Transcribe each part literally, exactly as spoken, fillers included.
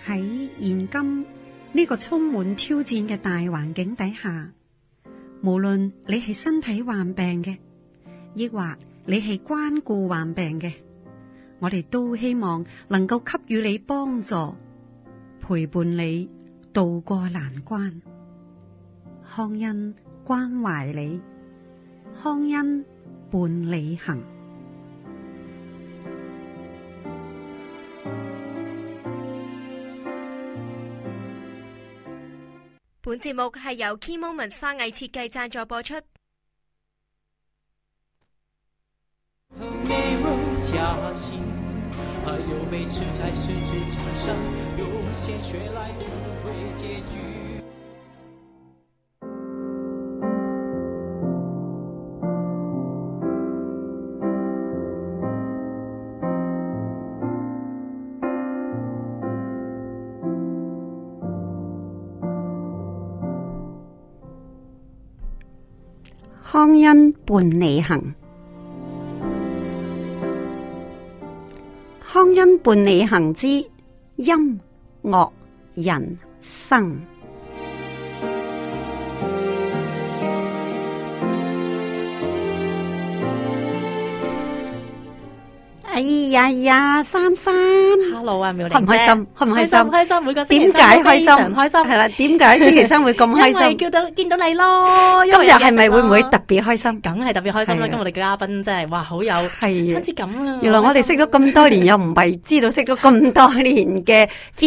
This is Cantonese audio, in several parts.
喺現今呢個充滿挑戰嘅大環境底下，無論你係身體患病嘅，抑或你係關顧患病嘅，我哋都希望能夠給予你幫助，陪伴你渡過難關。康恩關懷你，康恩伴你行。 本節目係由 Key Moments 花藝設計贊助播出。 康恩伴你行，康恩伴你行之音樂人生。哎呀呀，珊珊 ，Hello 啊，妙玲姐， 開唔開心？開唔開心？ 開心，每個星期點解開心？ 開心係啦，點解星期三會咁開心？ 因為叫到見到你咯。 今日係咪會唔會特別開心？ 梗係特別開心啦！今日我哋嘅嘉賓真係哇，好有親切感啊！ 原來我哋識咗咁多年，又唔係知道識咗咁多年嘅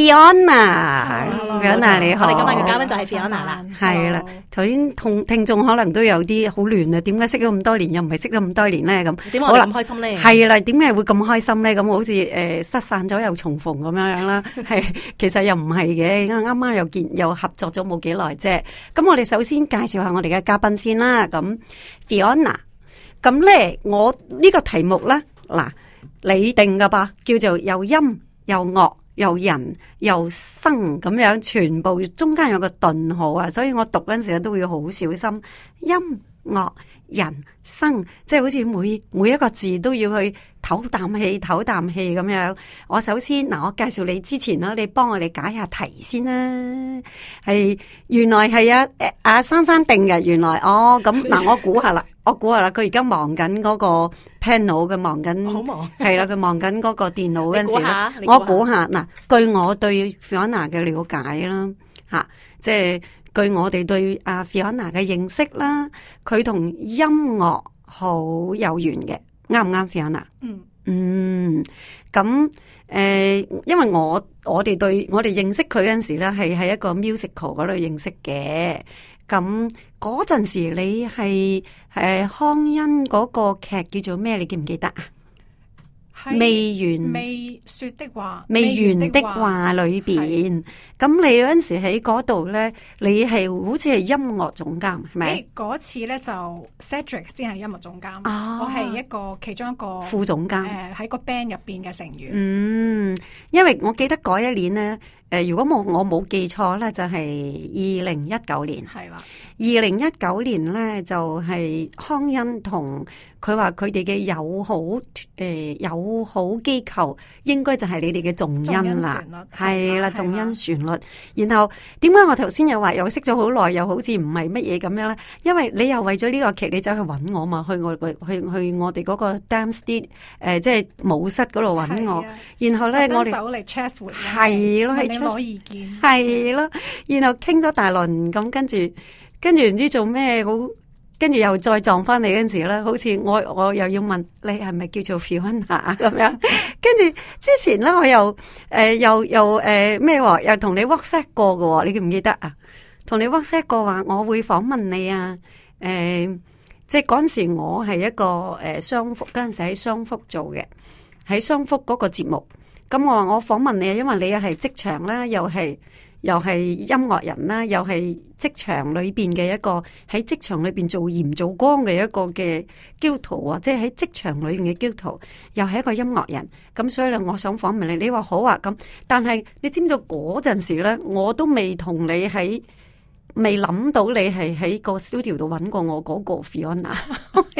Fiona。Fiona 你好， 我哋今晚嘅嘉賓就係 Fiona 啦。 係啦，頭先同聽眾可能都有啲好亂啊，點解識咗咁多年，又唔係識咗咁多年咧？咁點解我哋咁開心咧？ 係啦，點解會咁開心咧？咁好似誒失散咗又重逢咁樣樣啦，係其實又唔係嘅，啱啱又見又合作咗冇幾耐啫。咁我哋首先介紹下我哋嘅嘉賓先啦。咁 Fiona，咁咧我呢個題目咧嗱你定噶吧，叫做又音又樂又人又生咁樣，全部中間有個頓號啊，所以我讀嗰陣時都會好小心。音樂人生，即係好似每每一個字都要去唞啖氣唞啖氣咁樣。我首先嗱，我介紹你之前啦，你幫我哋解下題先啦。係原來係啊誒阿珊珊定嘅，原來哦咁嗱，我估下啦，我估下啦，佢而家忙緊嗰個 panel， 佢忙緊，好忙係啦，佢忙緊嗰個電腦嗰陣時咧，我估下嗱，據我對 Fiona 嘅了解啦，吓即係。據我哋對阿 Fiona 嘅認識啦，佢同音樂好有緣嘅，啱唔啱 Fiona？嗯嗯，咁誒、呃，因為我我哋對我哋認識佢嗰陣時咧，係喺一個 musical 嗰度認識嘅。咁嗰陣時你係誒康恩嗰個劇叫做咩？你記唔記得啊？未完未說的話， 未完的話裏邊，咁你嗰陣時喺嗰度咧，你係好似係音樂總監，係咪？ 嗰次咧就 Cedric 先係音樂總監， 哦、 我係一個其中一個副總監， 誒喺個 band 入邊嘅成員。 嗯，因為我記得嗰一年咧，誒、呃，如果冇我冇記錯咧，就係二零一九年，係啦，二零一九年咧就係、是、康恩同佢話佢哋嘅友好誒、呃、友好機構，應該就係你哋嘅重音啦，係啦，重音旋律。然後點解我頭先又話又識咗好耐，又好似唔係乜嘢咁樣咧？因為你又為咗呢個劇，你走去揾我嘛，去我去去我哋嗰個 dance studio 誒，即係舞室嗰度揾我。然後咧，我哋走嚟 chat 會係咯，係攞意見， 係咯。然後傾咗大輪，咁跟住跟住唔知做咩好。跟住又再撞翻你嗰陣時咧，好似我我又要問你係咪叫做 Fiona 咁樣？跟住之前咧，我又誒、呃、又又誒咩喎？又同、呃、你 WhatsApp 過嘅，你記唔記得啊？同你 WhatsApp 過話，我會訪問你啊！誒、呃，即係嗰陣時我係一個誒雙福，嗰陣時喺雙福做嘅，喺雙福嗰個節目。咁我話我訪問你啊，因為你又係職場啦，又係。又係音樂人啦，又係職場裏邊嘅一個喺職場裏邊做鹽做光嘅一個嘅基督徒啊，即係喺職場裏邊嘅基督徒，又係一個音樂人。咁所以咧，我想訪問你，你話好啊咁。但係你知唔知嗰陣時咧，我都未同你喺，未諗到你係喺個 studio 度揾過我嗰個 Fiona。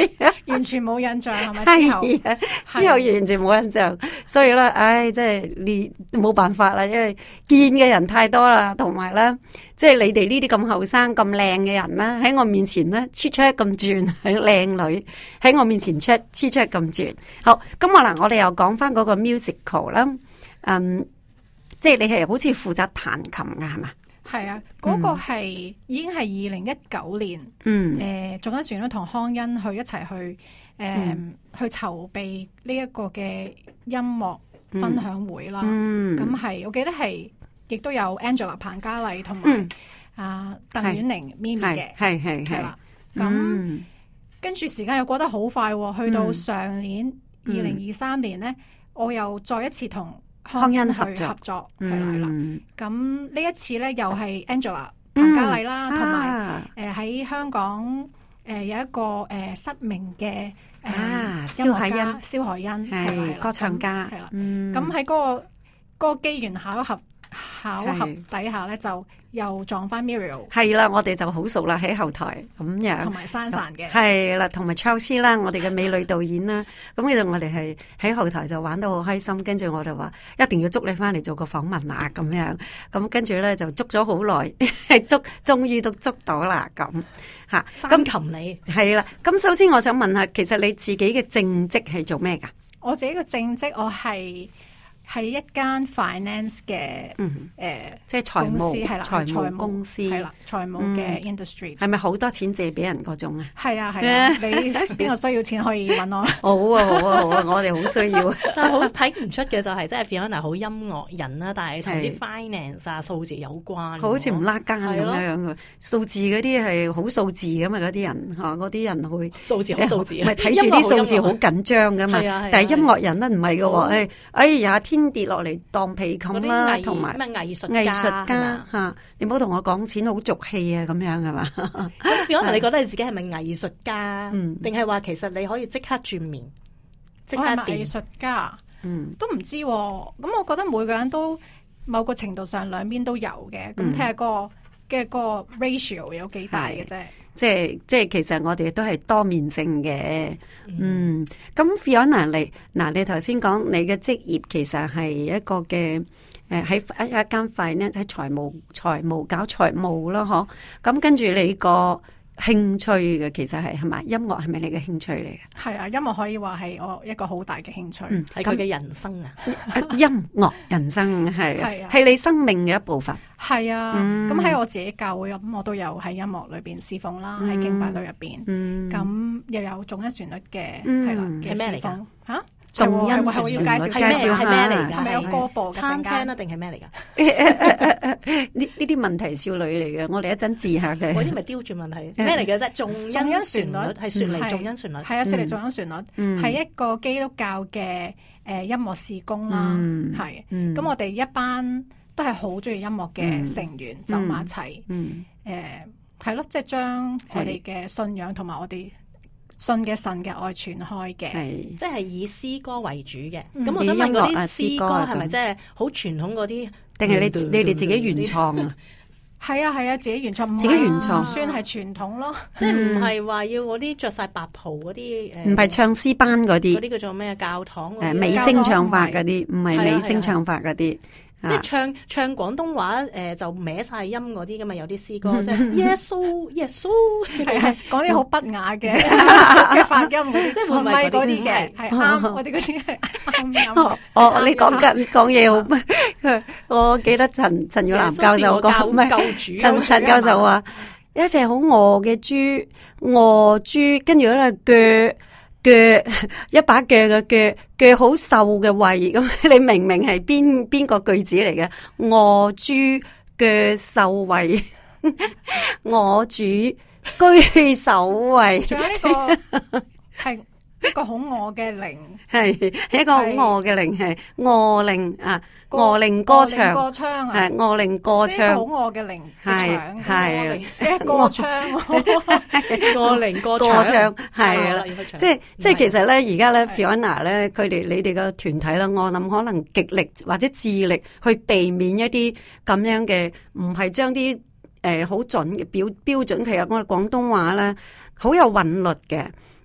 完全冇印象係咪？之後係啊，之後完全冇印象，所以咧，唉，即係你冇辦法啦，因為見嘅人太多啦，同埋咧，即係你哋呢啲咁後生、咁靚嘅人啦，喺我面前咧，出出咁轉，係靚女喺我面前出出出咁轉。好，咁我嗱，我哋又講翻嗰個 musical 啦，嗯，即係你係好似負責彈琴㗎係嘛？ 係啊，嗰、那個係、嗯、已經係二零一九年， 嗯， 誒做緊船咧，同康恩去一齊去誒、呃嗯、去籌備呢一個嘅音樂分享會啦。 嗯， 咁係我記得係亦都有 Angela 彭嘉麗同埋啊鄧婉玲咪咪嘅， 係係係啦。咁跟住時間又過得好快、哦，去到上年二零二三年咧、嗯，我又再一次同康恩合作，合作係啦係啦，咁呢、嗯、一次咧又係 Angela 彭嘉麗啦，同埋誒喺香港誒、呃、有一個誒、呃、失明嘅誒、呃啊、音樂家蕭海欣係歌唱家係啦，咁喺嗰個嗰、嗰個機緣巧合巧合底下咧就又撞翻 Muriel 係啦，我哋就好熟啦喺後台咁樣， 同埋珊珊嘅係啦，同埋 Charles 啦，我哋嘅美女導演啦，咁其實我哋係喺後台就玩得好開心，跟住我就話一定要捉你翻嚟做個訪問啊咁樣，咁跟住咧就捉咗好耐，捉終於都捉到啦咁吓。 咁擒你係啦，咁首先我想問下，其實你自己嘅正職係做咩噶？ 我自己嘅正職我係。係一間 finance 嘅誒、嗯呃， 即係財務公司係啦， 財務公司係啦，財務嘅 industry 係咪好多錢借俾人嗰種啊？ 係啊係啊，你邊個需要錢可以揾我？ 好啊好啊好啊，我哋好需要。 但係好睇唔出嘅就係，即係 Fiona 好音樂人啦，但係同啲 finance 啊數字有關， 好似唔拉更咁樣嘅數字嗰啲係好數字㗎嘛，嗰啲人嚇嗰啲人會數字好數字， 唔係睇住啲數字好緊張㗎嘛。但係音樂人咧唔係嘅喎，誒哎呀天跌落嚟當被冚啦，同埋咩藝術藝術家嚇，你唔好同我講錢好俗氣啊咁樣係嘛？ 咁可能你覺得你自己係咪藝術家？定係話其實你可以即刻轉面，即刻變藝術家？嗯，都唔知喎。咁我覺得每個人都某個程度上兩邊都有嘅。咁睇下個嘅個 ratio 有幾大嘅啫。 即係即係，其實我哋都係多面性嘅。嗯，咁 Fiona 你嗱，你頭先講你嘅職業其實係一個嘅誒喺一一間 finance 喺財務財務搞財務咯，嗬。咁跟住你個興趣嘅其實係係咪音樂係咪你嘅興趣嚟嘅？係啊， 音樂可以話係我一個好大嘅興趣， 係佢嘅人生啊！ 音樂人生係係係你生命嘅一部分。 係啊，咁喺、嗯、我自己教會咁，我都有喺音樂裏邊侍奉啦，喺、嗯、敬拜隊入邊，咁、嗯、又有頌恩旋律嘅，係、嗯、啦，係咩嚟噶？吓？頌恩旋律係咩？係咩嚟噶？ 係咪有歌播餐廳啊？定係咩嚟噶？ 呢呢啲問題少女嚟嘅，我哋一陣治下嘅。 嗰啲咪刁鑽問題？咩嚟嘅啫？頌恩旋律係雪梨頌恩旋律， 係啊，雪梨頌恩旋律係一個基督教嘅誒音樂事工啦，係。咁我哋一班都係好中意音樂嘅成員走埋一齊，誒係咯，即係將我哋嘅信仰同埋我哋信嘅神嘅愛傳開嘅， 即係以詩歌為主嘅。咁、嗯、我想問嗰啲詩歌係咪即係好傳統嗰啲，定係你你哋自己原創啊？ 係啊係啊，自己原創， 自己原創算係傳統咯。 即係唔係話要嗰啲着晒白袍嗰啲誒？ 唔係唱詩班嗰啲， 嗰啲叫做咩教堂誒美聲唱法嗰啲，唔係美聲唱法嗰啲。 即係唱唱廣東話誒、呃，就歪晒音嗰啲噶嘛，有啲詩歌即係耶穌耶穌， 係係講啲好不雅嘅嘅發音嗰啲，即係唔係嗰啲嘅，係啱我哋嗰啲係啱音。 哦，你講緊講嘢好，我記得陳陳耀南教授講咩？陳陳教授話一隻好餓嘅豬，餓豬，跟住咧腳。腳一把腳嘅腳，腳好瘦嘅胃，咁你明明係邊邊個句子嚟嘅？餓豬腳瘦胃，我主居首位。 仲有呢個係一個好餓嘅靈， 係係一個好餓嘅靈，係餓靈啊！餓靈歌唱， 歌唱係餓靈歌唱， 好餓嘅靈， 係係歌唱， 餓靈歌唱，係啦，即係即係其實咧，而家咧 Fiona 咧，佢哋你哋個團體啦，我諗可能極力或者致力去避免一啲咁樣嘅，唔係將啲誒好準嘅標標準，其實我哋廣東話咧好有韻律嘅。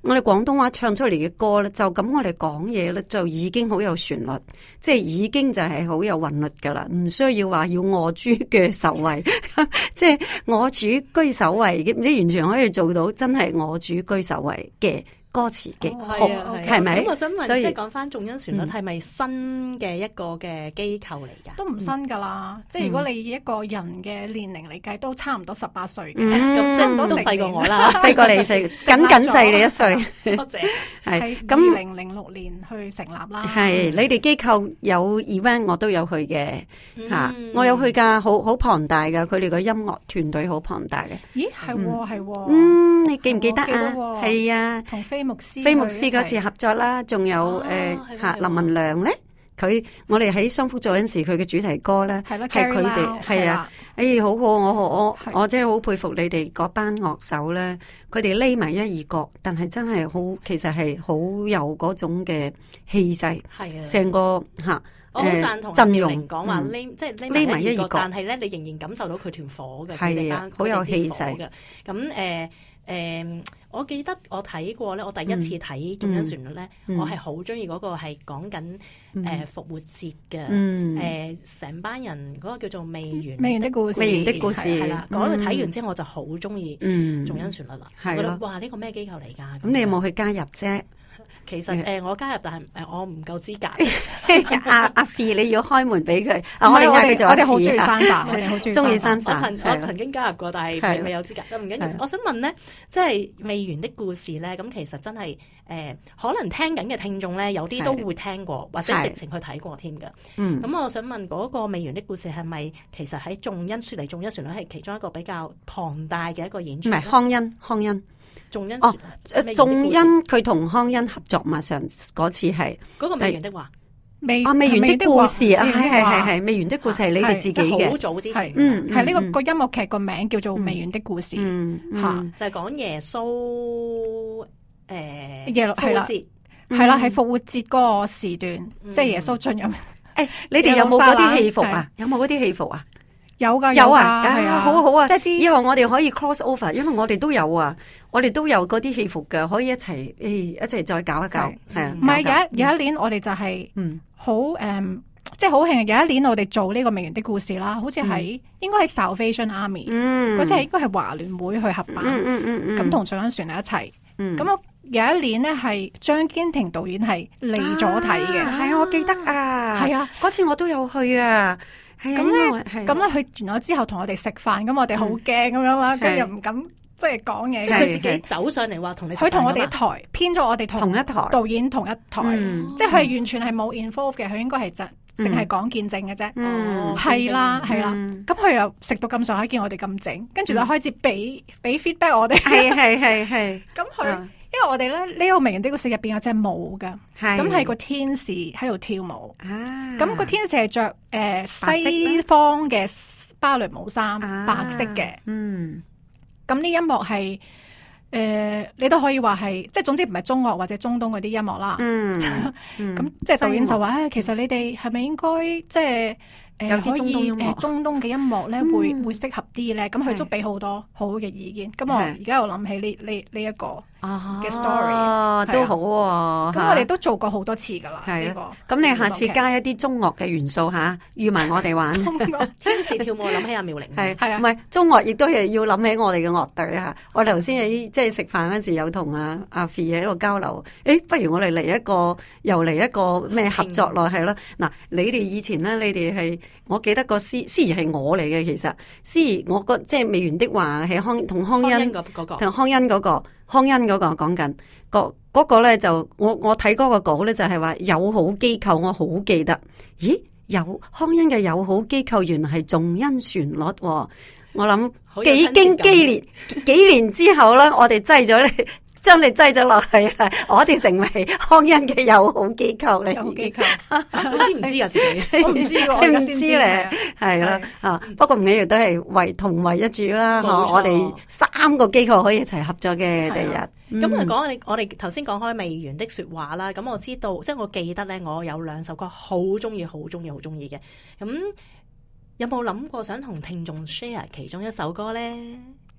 我哋廣東話唱出嚟嘅歌咧，就咁我哋講嘢咧，就已經好有旋律，即係已經就係好有韻律噶啦，唔需要話要我主嘅首位，即係我主居首位，你完全可以做到真係我主居首位嘅歌詞嘅曲，係咪？ 咁我想問， 所以即係講翻眾恩旋律係咪新嘅一個嘅機構嚟㗎？ 都唔新噶啦，嗯、即係如果你以一個人嘅年齡嚟計，都差唔多十八歲嘅， 咁、 嗯、即係都細過我啦， 細過你細，僅僅細你一歲。 多謝。 係咁，二零零六年去成立啦。 係你哋機構有 event，我都有去嘅嚇，嗯、我有去㗎，好好龐大㗎，佢哋個音樂團隊好龐大嘅。 咦，係喎，係喎。 嗯，你記唔記得啊？係啊， 同飛牧師飛牧師嗰次合作啦，仲有誒嚇林文亮咧，佢我哋喺雙福做嗰陣時，佢嘅主題歌咧係佢哋係啊，哎好好，我我我真係好佩服你哋嗰班樂手咧，佢哋匿埋一二角，但係真係好，其實係好有嗰種嘅氣勢，係啊，成個嚇。 我好贊同陣容講話匿，即係匿埋一角，但係咧你仍然感受到佢團火嘅，係啊，好有氣勢嘅。咁誒誒，我記得我睇過咧，我第一次睇眾恩旋律咧，我係好中意嗰個係講緊誒復活節嘅，誒成班人嗰個叫做未完未完的故事， 未完的故事係啦。嗰個睇完之後我就好中意眾恩旋律啦，我覺得哇呢個咩機構嚟㗎？ 咁你有冇去加入啫？ 其實誒、呃，我加入，但係誒、呃，我唔夠資格。 阿阿 Fee，你要開門俾佢。我哋嗌佢做阿 Fee。我哋好中意珊珊，我哋好中意。中意珊珊。我曾我曾經加入過，但係未未有資格。都唔緊要。我想問咧，即係未完的故事咧，咁其實真係誒、呃，可能聽緊嘅聽眾咧，有啲都會聽過，或者直情去睇過添㗎。嗯。咁我想問嗰個未完的故事係咪其實喺眾恩説嚟眾恩旋律係其中一個比較龐大嘅一個演出？唔係康恩，康恩。 眾恩哦，眾恩佢同康恩合作嘛？上嗰次係嗰個未完的話， 未啊未完的故事啊，係係係係未完的故事係你哋自己嘅， 好早之前， 嗯， 係呢個個音樂劇個名叫做《未完的故事》，吓就係講耶穌誒耶係啦，係啦，係復活節嗰個時段，即係耶穌進入。 誒，你哋有冇嗰啲戲服啊？有冇嗰啲戲服啊？ 有噶有啊， 係啊， 好好啊！ 即係啲以後我哋可以 cross over，因為我哋都有啊，我哋都有嗰啲戲服嘅，可以一齊誒一齊再搞一搞，係啊。 唔係有一有一年我哋就係嗯好誒，即係好慶！有一年我哋做呢個未完的故事啦，好似喺應該喺 Salvation Army，嗰次係應該係華聯會去合辦，咁同眾恩旋律一齊。咁我有一年呢，係張堅庭導演係嚟咗睇嘅， 係啊，我記得啊， 係啊， 嗰次我都有去啊。 咁咧，咁咧，佢完咗之後同我哋食飯，咁我哋好驚咁樣啦，跟住又唔敢即係講嘢。 即係佢自己走上嚟話同你， 佢同我哋一台編咗我哋同一台導演同一台，即係佢係完全係冇 involve 嘅，佢應該係淨淨係講見證嘅啫。哦，係啦係啦，咁佢又食到咁上下，見我哋咁整，跟住就開始俾俾 feedback 我哋。係係係係。咁佢。因為我哋咧呢個未完的故事入邊有隻舞噶，咁係個天使喺度跳舞，咁個天使係着誒西方嘅芭蕾舞衫，白色嘅，嗯，咁呢音樂係誒你都可以話係，即係總之唔係中樂或者中東嗰啲音樂啦，嗯，咁即係導演就話誒，其實你哋係咪應該即係？有啲中東音樂，中東嘅音樂咧會會適合啲咧，咁佢都俾好多好好嘅意見。咁我而家又諗起呢呢呢一個嘅 story， 都好喎。 咁我哋都做過好多次噶啦。呢個咁你下次加一啲中樂嘅元素嚇，預埋我哋玩。 天使跳舞諗起阿妙玲， 係係啊，唔係中樂亦都係要諗起我哋嘅樂隊嚇。我頭先喺即係食飯嗰時有同阿阿 Fee 喺度交流，誒，不如我哋嚟一個又嚟一個咩合作咯，係咯。嗱，你哋以前咧，你哋係。我記得個司司儀係我嚟嘅，其實司儀我個即係未完的話係康同康恩同康恩嗰個康恩嗰個講緊個嗰個咧就我我睇嗰個稿咧就係話友好機構，我好記得，咦有康恩嘅友好機構原來係眾恩旋律，我諗幾經激烈幾年之後咧，我哋擠咗你。將你擠咗落去，我哋成為康恩嘅友好機構嚟。友好機構， 你知唔知啊？自己我唔知喎， 你唔知咧，係啦啊！不過唔緊要，都係為同為一主啦。我哋三個機構可以一齊合作嘅第日。 咁啊，講我哋頭先講開未完的說話啦。咁我知道，即係我記得咧，我有兩首歌好中意、好中意、好中意嘅。咁有冇諗過想同聽眾 share 其中一首歌咧？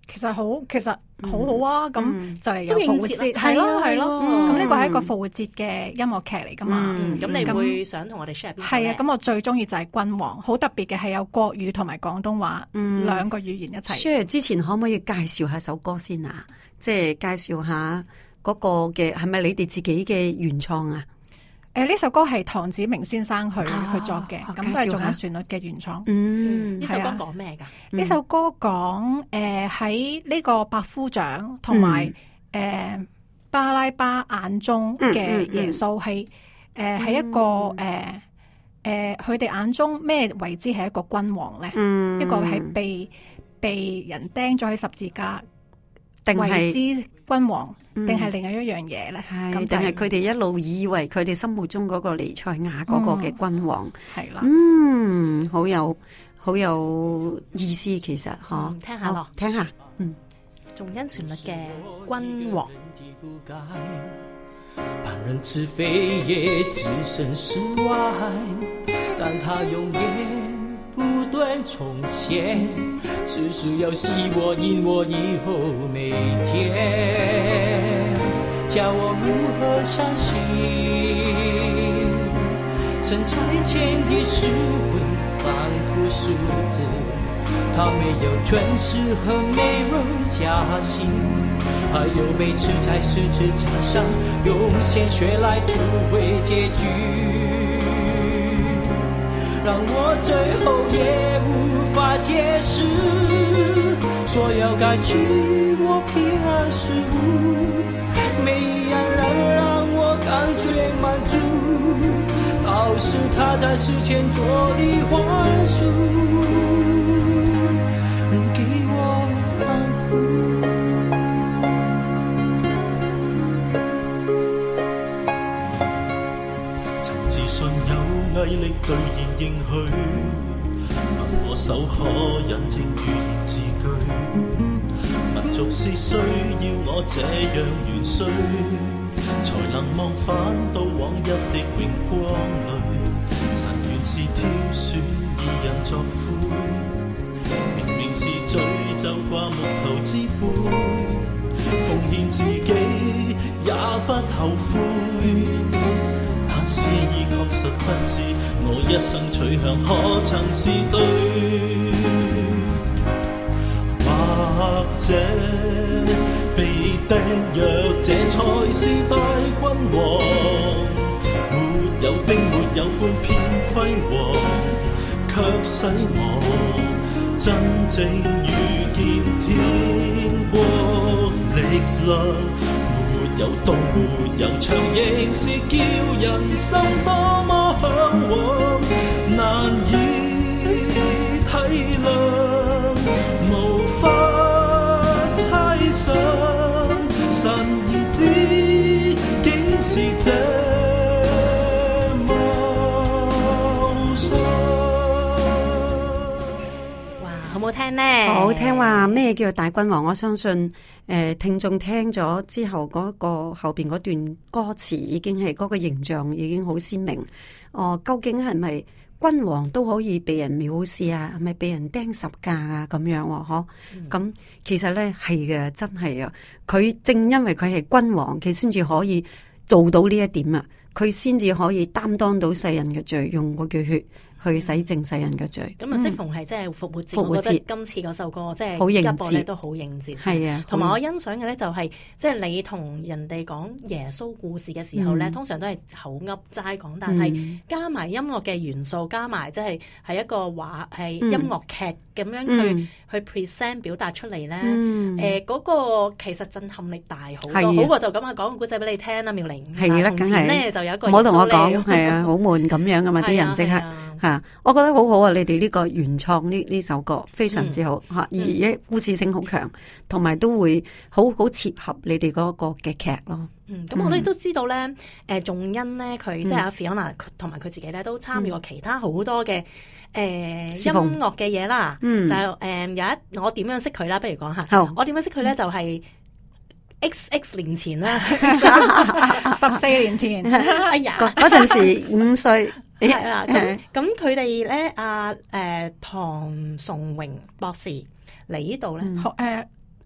其實好，其實好好啊！咁、嗯、就嚟有復活節， 係咯係咯。 咁呢個係一個復活節嘅音樂劇嚟噶嘛？ 咁、嗯、你會想同我哋 share 邊個？ 係啊，咁我最中意就係《君王》，好特別嘅係有國語同埋廣東話、嗯、兩個語言一齊。 share 之前可唔可以介紹下首歌先啊？即係介紹下嗰個嘅係咪你哋自己嘅原創啊？ 誒，呢首歌係唐子明先生去、哦、去作嘅，咁都係仲有旋律嘅原創。 嗯，呢首歌講咩噶？ 呢首歌講誒喺呢個百夫長同埋誒巴拉巴眼中嘅耶穌係誒係一個誒誒佢哋眼中咩為之係一個君王咧？嗯、一個係被被人釘咗喺十字架。定係之君王，定係另外一樣嘢咧？ 係定係佢哋一路以為佢哋心目中嗰個彌賽亞嗰個嘅君王係啦。 嗯，好有好有意思，其實嗬、嗯， 聽下咯， 聽下，嗯， 重音旋律嘅君王。 旁人似非也置身事外，但他永遠不斷重現，只是要吸我引我以後每天，叫我如何相信神差遣的是會反覆數字，他沒有權勢和美人加薪，還有被刺在十字架上用鮮血來塗毀結局，讓我最後也無法解釋，說要改去我平安事物，每一樣人讓我感覺滿足，倒是他在世前做的寬恕，能給我安撫。曾自信有毅力兌現應許，問我手可印證預言字句，民族是需要我這樣元帥，才能望返到往日的榮光裡，神原是挑選義人作灰，明明是罪就掛木頭之杯，奉獻自己也不後悔，但是已確實不知我一生取向可曾是對，或者被釘若這才是大君王，沒有兵沒有半片輝煌，卻使我真正遇見天國力量，沒有刀沒有槍，仍是叫人心多麼向往，難以體諒，無法猜想，神兒子竟是這麼傷。 哇，好唔好聽呢？ 好聽話，咩叫大君王？我相信誒、呃，聽眾聽咗之後，嗰、那個後邊嗰段歌詞已經係嗰、那個形象已經好鮮明。哦、呃，究竟係咪君王都可以被人藐視啊？係咪被人釘十架啊？咁樣嗬、啊？咁、嗯、其實咧係嘅，真係啊！佢正因為佢係君王，佢先至可以做到呢一點啊！佢先至可以擔當到世人嘅罪，用嗰句血去洗淨世人嘅罪。咁、嗯、 啊，適逢係即係復活節， 復活節我覺得今次嗰首歌即係一播咧都好應節。 係啊， 同埋我欣賞嘅咧就係、是，即係你同人哋講耶穌故事嘅時候咧、嗯，通常都係口噏齋講，但係加埋音樂嘅元素，加埋即係係一個話係音樂劇咁樣去、嗯、去 present 表達出嚟咧。誒、嗯，嗰、呃那個其實震撼力大好多，好過就咁啊講個故仔俾你聽啦，妙玲。係啦，從前咧就有一個唔好同我講，係啊，好悶咁樣噶嘛，啲人即刻吓。我覺得好好啊！你哋呢個原創呢呢首歌非常之好吓、嗯，而且故事性好強，同埋都會好好切合你哋嗰個嘅劇咯。 嗯，咁我哋都知道咧，誒、呃，仲恩咧，佢、嗯、即係阿 Fiona 同埋佢自己咧，都參與過其他好多嘅誒、呃、音樂嘅嘢啦。嗯，就係、是、誒、呃、有一我點樣識佢啦？不如講下。好，我點樣識佢咧？就係、是。X X 年前啦， 十四年前， 哎呀， 嗰陣時五歲， 係啦，咁咁佢哋咧，阿誒唐崇榮博士嚟呢度咧， 誒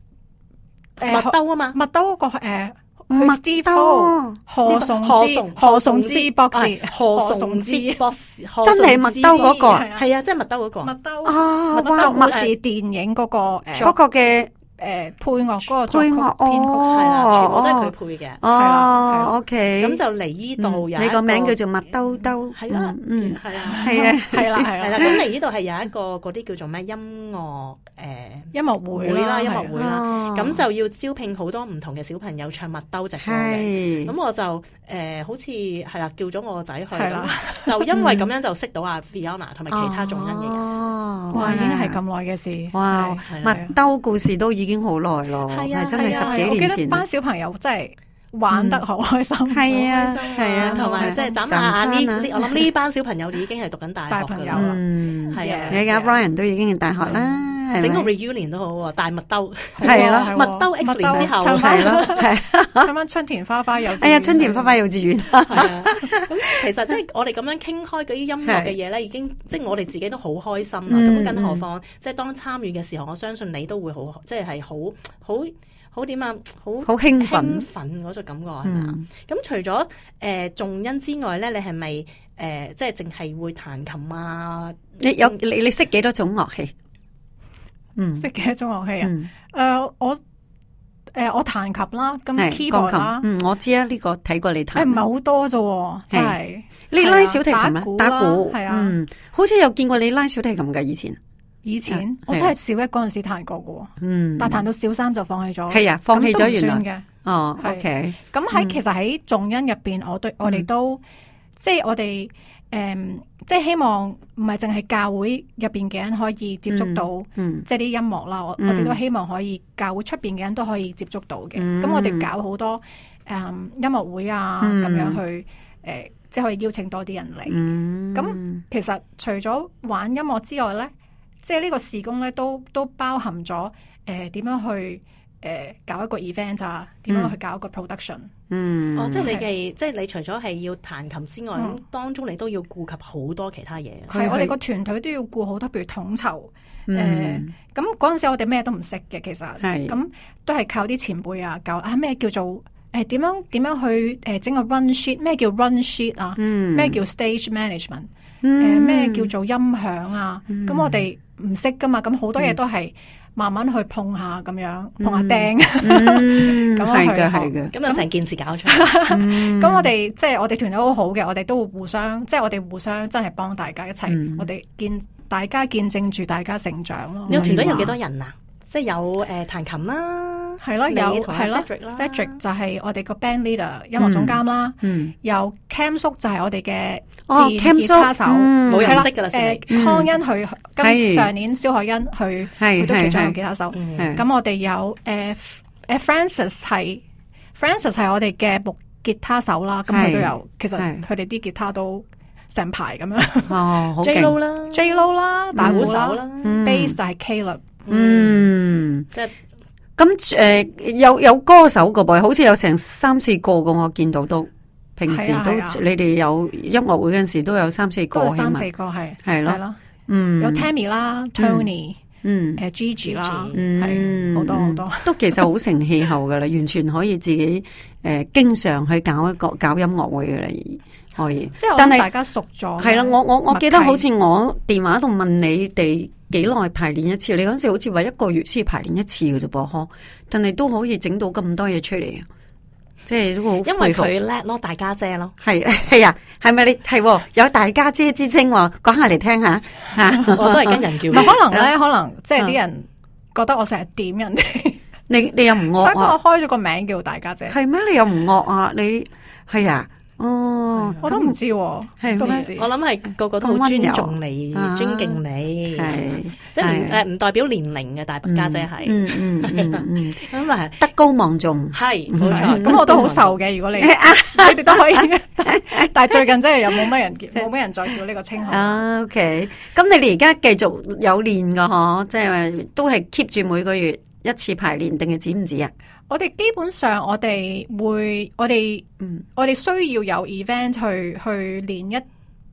麥兜啊嘛， 麥兜嗰個誒。 麥兜何崇之何崇之博士， 何崇之博士， 真係麥兜嗰個， 係啊，即係麥兜嗰個。 麥兜啊， 麥兜故事電影嗰個誒， 嗰個嘅。 誒，配樂嗰個配樂編曲係啦，全部都係佢配嘅。 哦，OK， 咁就嚟呢度有你個名叫做麥兜兜， 係啦，嗯，係啊， 係啊， 係啦，係啦。 咁嚟呢度係有一個嗰啲叫做咩音樂誒音樂會啦，音樂會啦。咁就要招聘好多唔同嘅小朋友唱麥兜直歌嘅。咁我就誒，好似係啦，叫咗我個仔去，就因為咁樣就識到阿 Fiona 同埋其他眾恩嘅人。 哇，已經係咁耐嘅事。 哇，麥兜故事都已經好耐咯，係真係十幾年前。我記得班小朋友真係玩得好開心， 係啊，係啊， 同埋即係眨下眼呢，我諗呢班小朋友已經係讀緊大學噶啦，係啊， 你而家 Brian 都已經係大學啦， 整個 reunion 都好喎，大麥兜係啦， 麥兜 X 年之後係咯，係啱啱春田花花幼稚園， 哎呀，春田花花幼稚園， 咁其實即係我哋咁樣傾開嗰啲音樂嘅嘢咧，已經即係我哋自己都好開心啦。咁更何況即係當參與嘅時候，我相信你都會好，即係係好好好點啊，好好興奮興奮嗰種感覺係咪啊？咁除咗誒眾恩之外咧，你係咪誒即係淨係會彈琴啊？ 你有你你識幾多種樂器？嗯， 識幾多種樂器啊？誒，我誒我彈琴啦，咁 keyboard 啦， 嗯，我知啊，呢個睇過你彈， 誒唔係好多啫，真係。 你拉小提琴啊？打鼓係啊， 嗯，好似有見過你拉小提琴噶以前。 以前我真係小一嗰陣時彈過嘅， 嗯， 但彈到小三就放棄咗。 係啊，放棄咗原來嘅。 哦，OK。 咁喺其實喺眾恩入邊，我對我哋都即係我哋誒，即係希望唔係淨係教會入邊嘅人可以接觸到，即係啲音樂啦。我我哋都希望可以教會出邊嘅人都可以接觸到嘅。咁我哋搞好多誒音樂會啊，咁樣去誒，即係可以邀請多啲人嚟。咁其實除咗玩音樂之外咧，即係呢個事工咧，都都包含咗誒點樣去誒、呃、搞一個 event 啊，點樣去搞一個 production。 嗯， 哦，即係你嘅，即係你除咗係要彈琴之外，咁、嗯、當中你都要顧及好多其他嘢。 係我哋個團隊都要顧好多，譬如統籌誒。咁嗰陣時我哋咩都唔識嘅，其實係咁都係靠啲前輩啊教啊咩叫做誒點樣點樣去誒整個 run sheet， 咩叫 run sheet 啊？咩、嗯、叫 stage management？誒咩、呃、叫做音響啊？咁、嗯、我哋唔識噶嘛，咁好多嘢都係慢慢去碰下咁樣，碰下釘，咁係嘅係嘅， 咁就成件事搞出嚟。 咁我哋即係我哋團隊好好嘅，我哋都會互相，即係我哋互相真係幫大家一齊，嗯、我哋見大家見證住大家成長咯。 你個團隊有幾多人啊？即係有誒彈琴啦， 係咯，有係咯 Cedric 就係我哋個 band leader 音樂總監啦，有 Cam 叔就係我哋嘅電吉他手， 冇人識噶啦， 誒康恩佢跟上年蕭海恩佢佢都其中一個吉他手，咁我哋有誒誒 Francis 係 Francis 係我哋嘅木吉他手啦，咁佢都有，其實佢哋啲吉他都成排咁樣， 哦 J Lo 啦 J Lo 啦打鼓手啦 ，Bass 就係 Caleb。 嗯，即係咁誒，有有歌手個噃，好似有成三四個噶，我見到都平時都你哋有音樂會嗰陣時都有三四個， 三四個係係咯，嗯， 有 Tammy 啦 ，Tony，嗯，誒 Gigi 啦，係好多好多， 都其實好成氣候噶啦，完全可以自己誒經常去搞一個搞音樂會噶啦，可以， 即係但係大家熟咗， 係啦，我我我記得好似我電話度問你哋。幾耐排練一次？你嗰陣時好似話一個月先排練一次嘅啫噃，嗬！但係都可以整到咁多嘢出嚟，即係都好。因為佢叻咯，大家姐咯， 係係啊，係咪你係有大家姐之稱？講下嚟聽下吓， 我都係跟人叫。 唔係可能咧，可能即係啲人覺得我成日點人哋， 你你又唔惡啊？ 所以我開咗個名叫大家姐。 係咩？你又唔惡啊？你係啊？哦， 我都唔知，係唔知。 我諗係個個都好尊重你、尊敬你，係即係誒，唔代表年齡嘅大伯家姐係，嗯嗯嗯嗯，咁啊德高望重，係冇錯。 咁我都好受嘅，如果你你哋都可以，但係最近真係又冇乜人冇乜人再叫呢個稱號。 OK，咁你哋而家繼續有練噶嗬？即係都係 keep 住每個月一次排練，定係止唔止啊？ 我哋基本上我哋會，我哋，嗯，我哋需要有 event 去去練一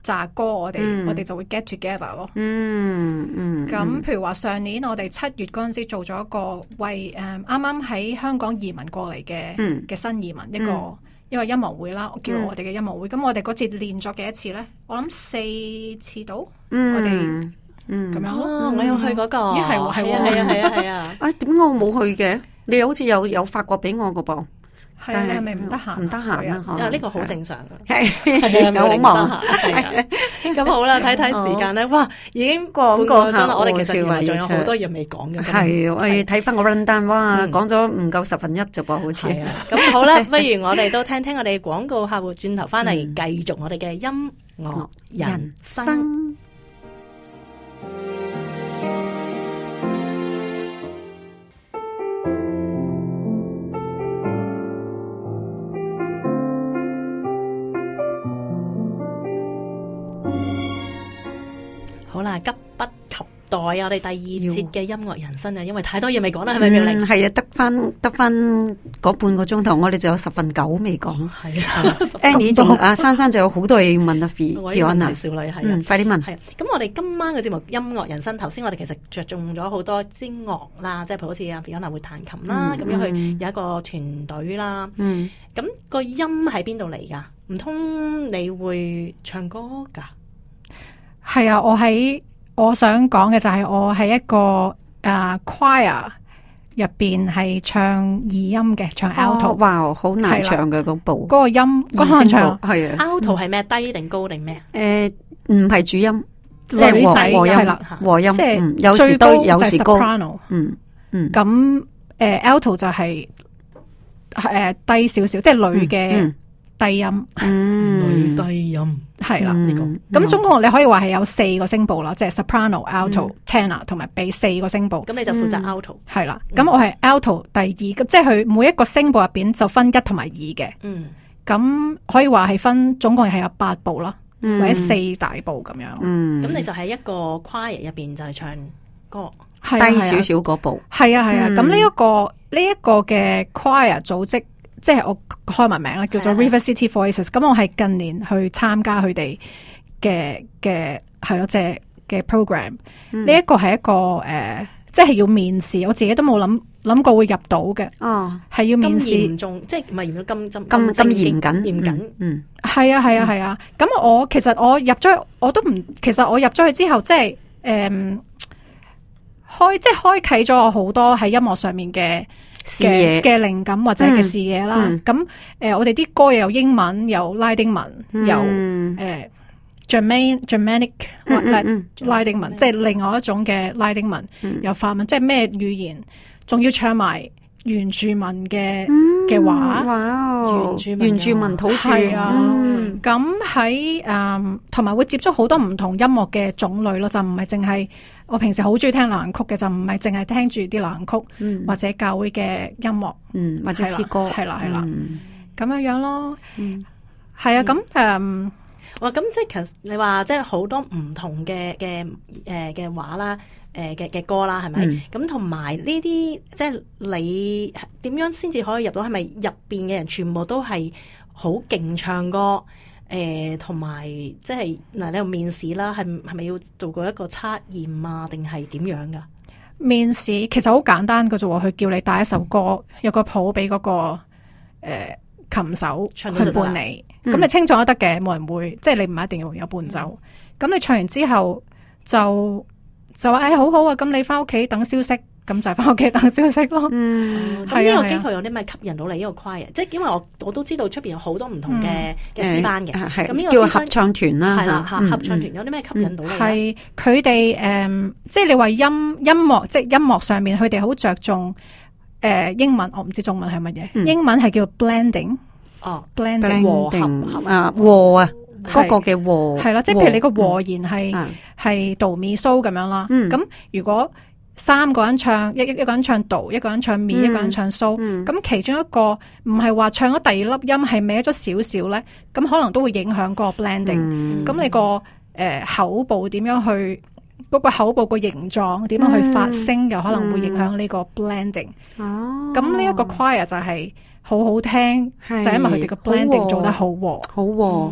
扎歌，我哋、嗯、我哋就會 get together 咯。 嗯嗯。咁、 嗯、譬如話上年我哋七月嗰陣時做咗一個為誒啱啱喺香港移民過嚟嘅嘅新移民一個、嗯、一個音樂會啦，叫我哋嘅音樂會。咁、嗯、我哋嗰次練咗幾多次咧？我諗四次到。嗯、我哋嗯咁樣咯。 哦、我有去嗰、嗰個。 咦係喎係喎係啊係啊係啊！ 哎點解我冇去嘅？你好似有有發過俾我個噃。 係啊，你係咪唔得閒？ 唔得閒啊！ 啊，呢個好正常嘅， 係係好忙。 咁好啦，睇睇時間咧，哇，已經過個鐘啦。我哋其實原來仲有好多嘢未講嘅。 係，我要睇翻個 run down，哇，講咗唔夠十分一啫噃，好似。 咁好啦，不如我哋都聽聽我哋廣告客戶，轉頭翻嚟繼續我哋嘅音樂人生。好啦，急不及待啊！我哋第二節嘅音樂人生啊，因為太多嘢未講啦，係咪妙玲？ 係啊，得翻得翻嗰半個鐘頭，我哋仲有十分九未講。係啊 ，Annie 仲阿珊珊仲有好多嘢要問啊，Fiona 少女係啊， 嗯，快啲問。 係咁，我哋今晚嘅節目音樂人生，頭先我哋其實着重咗好多支樂啦，即係譬如好似阿 Fiona 會彈琴啦，咁、嗯、樣去有一個團隊啦。嗯，咁個音喺邊度嚟噶？唔通你會唱歌噶？ 係啊，我喺我想講嘅就係我喺一個誒、uh, choir 入邊係唱二音嘅，唱 alto。 哦、哇，好難唱嘅嗰部。 嗰個音嗰個唱係啊 alto 係咩？低定高定咩？ 誒，唔係主音，即係和和音係啦，和音。即係有時都有時高。嗯嗯。咁誒 alto 就係誒低少少，即係女嘅。低音， 嗯，女低音係啦，呢個咁總共你可以話係有四個聲部啦，即係 soprano、alto、tenor 同埋 bass 四個聲部。咁你就負責 alto，係啦。咁我係 alto 第二，即係佢每一個聲部入邊就分一同埋二嘅。嗯，咁可以話係分總共係有八部啦，或者四大部咁樣。嗯， 咁你就喺一個 choir 入邊就係唱歌， 低少少嗰部。 係啊係啊，咁呢一個呢一個嘅 choir 組織。即係我開埋名啦，叫做 River City Voices。咁我係近年去參加佢哋嘅嘅係咯，即係嘅 program。呢一個係一個誒，即係要面試，我自己都冇諗諗過會入到嘅。哦，係要面試， 嚴重，即係唔係嚴咁咁咁咁嚴謹嚴謹。 嗯，係啊係啊係啊。咁我其實我入咗，我都唔，其實我入咗去之後，即係誒開，即係開啟咗我好多喺音樂上面嘅。嘅嘅靈感或者嘅視野啦，咁誒、嗯呃，我哋啲歌又有英文，有拉丁文，嗯、有誒 German Germanic 拉丁文，嗯、即係另外一種嘅拉丁文，嗯、有法文，即係咩語言，仲要唱埋原住民嘅嘅、嗯、話， 哇原住民土著係啊，咁喺誒同埋會接觸好多唔同音樂嘅種類咯，就唔係淨係。我平時好中意聽流行曲嘅，就唔係淨係聽住啲流行曲，嗯、或者教會嘅音樂， 嗯，或者詩歌， 係啦係啦，咁、嗯、樣樣咯， 嗯， 係啊，咁誒、 嗯，哇，咁即係其實你話即係好多唔同嘅嘅誒嘅話啦，誒嘅嘅歌啦，係咪？咁同埋呢啲即係你點樣先至可以入到？係咪入邊嘅人全部都係好勁唱歌？誒，同埋即係嗱，你有面試啦，係係咪要做過一個測驗啊？定係點樣噶？ 面試其實好簡單嘅啫，佢叫你帶一首歌，嗯、有個譜俾嗰個誒、呃、琴手去伴你，咁、嗯、你清楚都得嘅，冇人會，即係你唔一定要有伴奏。咁、嗯、你唱完之後就就話誒、哎、好好啊，咁你翻屋企等消息。咁就翻屋企等消息咯。嗯， 咁呢個機構有啲咩吸引到你呢個 choir？即係因為我我都知道出邊有好多唔同嘅嘅詩班嘅， 咁呢個叫合唱團啦。 係啦，合唱團有啲咩吸引到你？ 係佢哋誒，即係你話音音樂，即係音樂上面，佢哋好着重誒英文，我唔知中文係乜嘢。英文係叫 blending。哦，blending 和合啊和啊，嗰個嘅和係啦，即係譬如你個和弦係係 do mi so 咁樣啦。咁如果三個人唱一一個人唱 do， 一個人唱 mi，、嗯、一個人唱 so， 咁、嗯、其中一個唔係話唱咗第二粒音係歪咗少少咧，咁可能都會影響個 blending。咁、嗯、你個誒、呃、口部點樣去嗰、那個口部個形狀點樣去發聲，又、嗯、可能會影響呢個 blending。哦，咁呢一個 choir 就係好好聽，就係、因為佢哋個 blending 做得好和， 好和。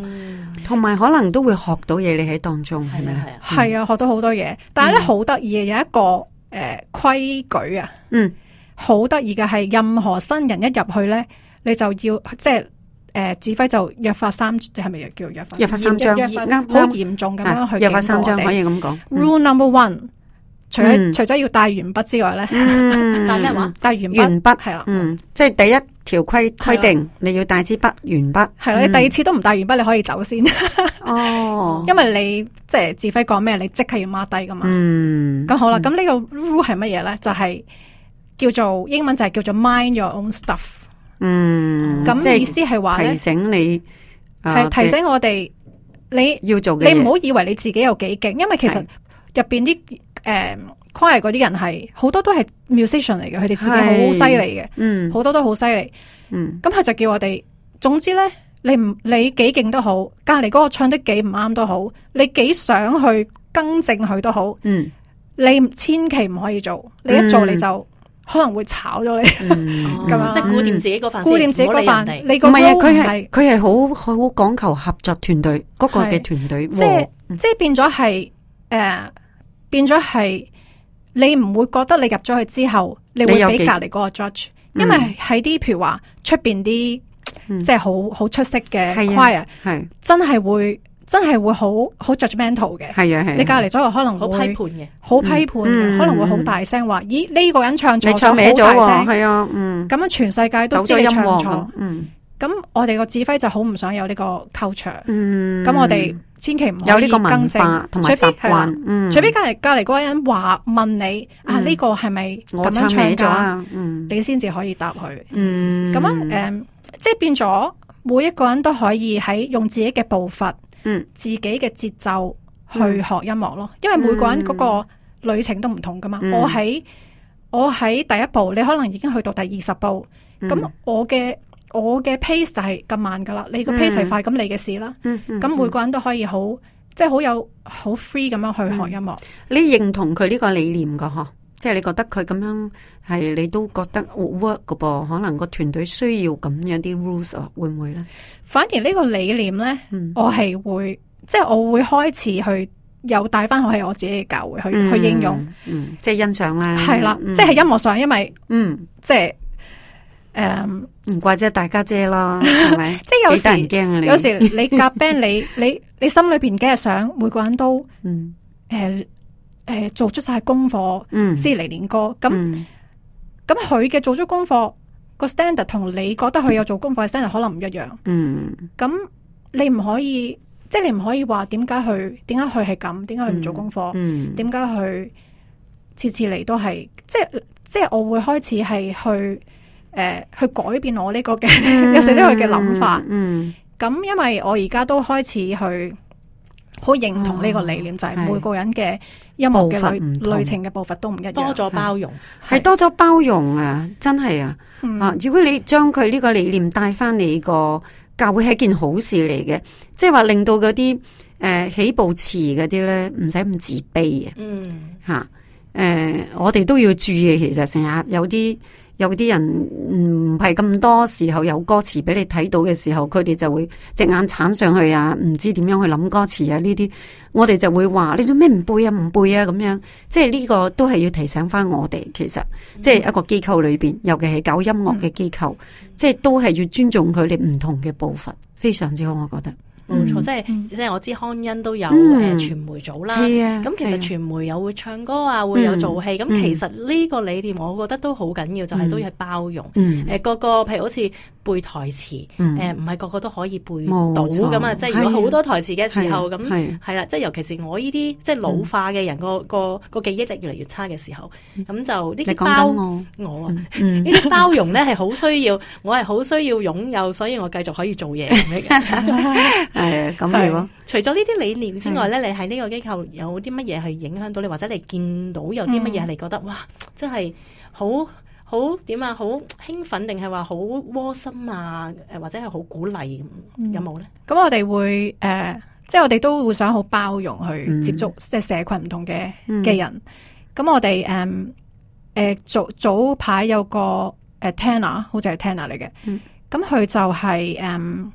同埋可能都會學到嘢，你喺當中係咪咧？ 係啊，學到好多嘢。但係咧好得意嘅有一個誒規矩啊，嗯，好得意嘅係任何新人一入去咧，你就要即係誒指揮就約法三，係咪叫約法？ 約法三章， 好嚴重咁樣去約法三章可以咁講。 Rule number one，除咗除咗要帶鉛筆之外咧，帶咩話？帶鉛筆，鉛筆係啦，嗯， 即係第一條規規定你要帶支筆鉛筆， 係啦，你第二次都唔帶鉛筆，你可以走先。 哦， 因為你即係指揮講咩，你即刻要 mark 低噶嘛。嗯，咁好啦，咁呢個 rule 係乜嘢咧？就係叫做英文就係叫做 mind your own stuff。嗯，咁意思係話咧， 提醒你係提醒我哋你要做嘅嘢， 你唔好以為你自己有幾勁，因為其實入邊啲誒 choir 嗰啲人係好多都係 musician 嚟嘅，佢哋自己好犀利嘅，嗯，好多都好犀利，嗯，咁佢就叫我哋，總之咧，你唔你幾勁都好，隔籬嗰個唱得幾唔啱都好，你幾想去更正佢都好，嗯，你千祈唔可以做，你一做你就可能會炒咗你，咁樣即係顧掂自己嗰份， 顧掂自己嗰份，你個唔係啊，佢係佢係好好講求合作團隊嗰個嘅團隊， 即係即係變咗係誒，變咗係。你唔會覺得你入咗去之後，你會俾隔籬嗰個 judge，因為喺啲譬如話出邊啲即係好好出色嘅 choir，係真係會真係會好好 judgmental 嘅，係啊係。你隔籬左右可能好批判嘅， 好批判嘅，可能會好大聲話：咦呢個人唱錯， 你唱歪咗喎，係啊，嗯。 咁樣全世界都知你唱錯，嗯。咁我哋個指揮就好唔想有呢個 culture，嗯。咁我哋千祈唔可以有呢個文化同埋習慣，嗯， 除非隔籬隔籬嗰個人話問你啊呢個係咪咁樣唱噶？嗯，你先至可以答佢。嗯，咁樣誒，即係變咗每一個人都可以喺用自己嘅步伐，嗯，自己嘅節奏去學音樂咯。因為每個人嗰個旅程都唔同噶嘛。我喺我喺第一步，你可能已經去到第二十步，咁我嘅。我嘅 pace 就係咁慢噶啦，你個 pace 係快，咁、嗯、你嘅事啦。咁、嗯嗯、每個人都可以好，即係好有好 free 咁樣去學音樂。 你認同佢呢個理念噶嗬？即係你覺得佢咁樣係，你都覺得 work 噶噃？可能個團隊需要咁樣啲 rules 啊，會唔會咧？ 反而呢個理念咧，嗯、我係會，即係我會開始去又帶翻去我自己嘅教會去、嗯、去應用， 嗯、即係欣賞啦。 係啦，嗯、即係音樂上，因為嗯，即係。誒，唔、um, 怪之大家姐啦，係咪？ 即係有時，啊、有時你夾 band，你你你心裏邊梗係想每個人都，嗯，誒誒、呃呃，做出晒功課，嗯，先嚟練歌。咁咁佢嘅做足功課個 standard 同你覺得佢有做功課嘅 standard 可能唔一樣。嗯，咁你唔可以，即係你唔可以話點解佢點解佢係咁？點解佢唔做功課？嗯，點解佢次次嚟都係？即係即係我會開始係去。誒、呃，去改變我呢個嘅、嗯、有時呢個嘅諗法，嗯，咁、嗯、因為我而家都開始去好認同呢個理念，哦、就係每個人嘅音樂嘅旅旅程嘅步伐都唔一樣， 多咗包容， 係多咗包容啊！真係啊，嗯、啊！如果你將佢呢個理念帶翻你個教會，係一件好事嚟嘅，即係話令到嗰啲誒起步遲嗰啲咧，唔使咁自卑啊！嗯，吓誒、呃，我哋都要注意，其實成日有啲。有啲人唔係咁多時候有歌詞俾你睇到嘅時候，佢哋就會隻眼鏟上去啊，唔知點樣去諗歌詞啊呢啲，我哋就會話你做咩唔背啊唔背啊咁樣，即係呢個都係要提醒翻我哋，其實即係一個機構裏邊，尤其係搞音樂嘅機構，嗯、即係都係要尊重佢哋唔同嘅步伐，非常之好，我覺得。 冇錯，即係即係我知康恩都有誒傳媒組啦。咁其實傳媒有會唱歌啊，會有做戲。咁其實呢個理念，我覺得都好緊要，就係都要包容。誒個個譬如好似背台詞，誒唔係個個都可以背到咁啊。即係如果好多台詞嘅時候，咁係啦。即係尤其是我呢啲即係老化嘅人，個個個記憶力越嚟越差嘅時候，咁就呢啲包我啊，呢啲包容咧係好需要，我係好需要擁有，所以我繼續可以做嘢咁嘅。係咁如果除咗呢啲理念之外咧，你喺呢個機構有啲乜嘢去影響到你，或者你見到有啲乜嘢係你覺得哇，真係好好點啊，好興奮定係話好窩心啊？誒，或者係好鼓勵咁，有冇咧？咁我哋會誒，即係我哋都會想好包容去接觸即係社群唔同嘅嘅人。咁我哋誒誒早早排有個誒 Tanner，好似係 Tanner 嚟嘅。咁佢就係誒。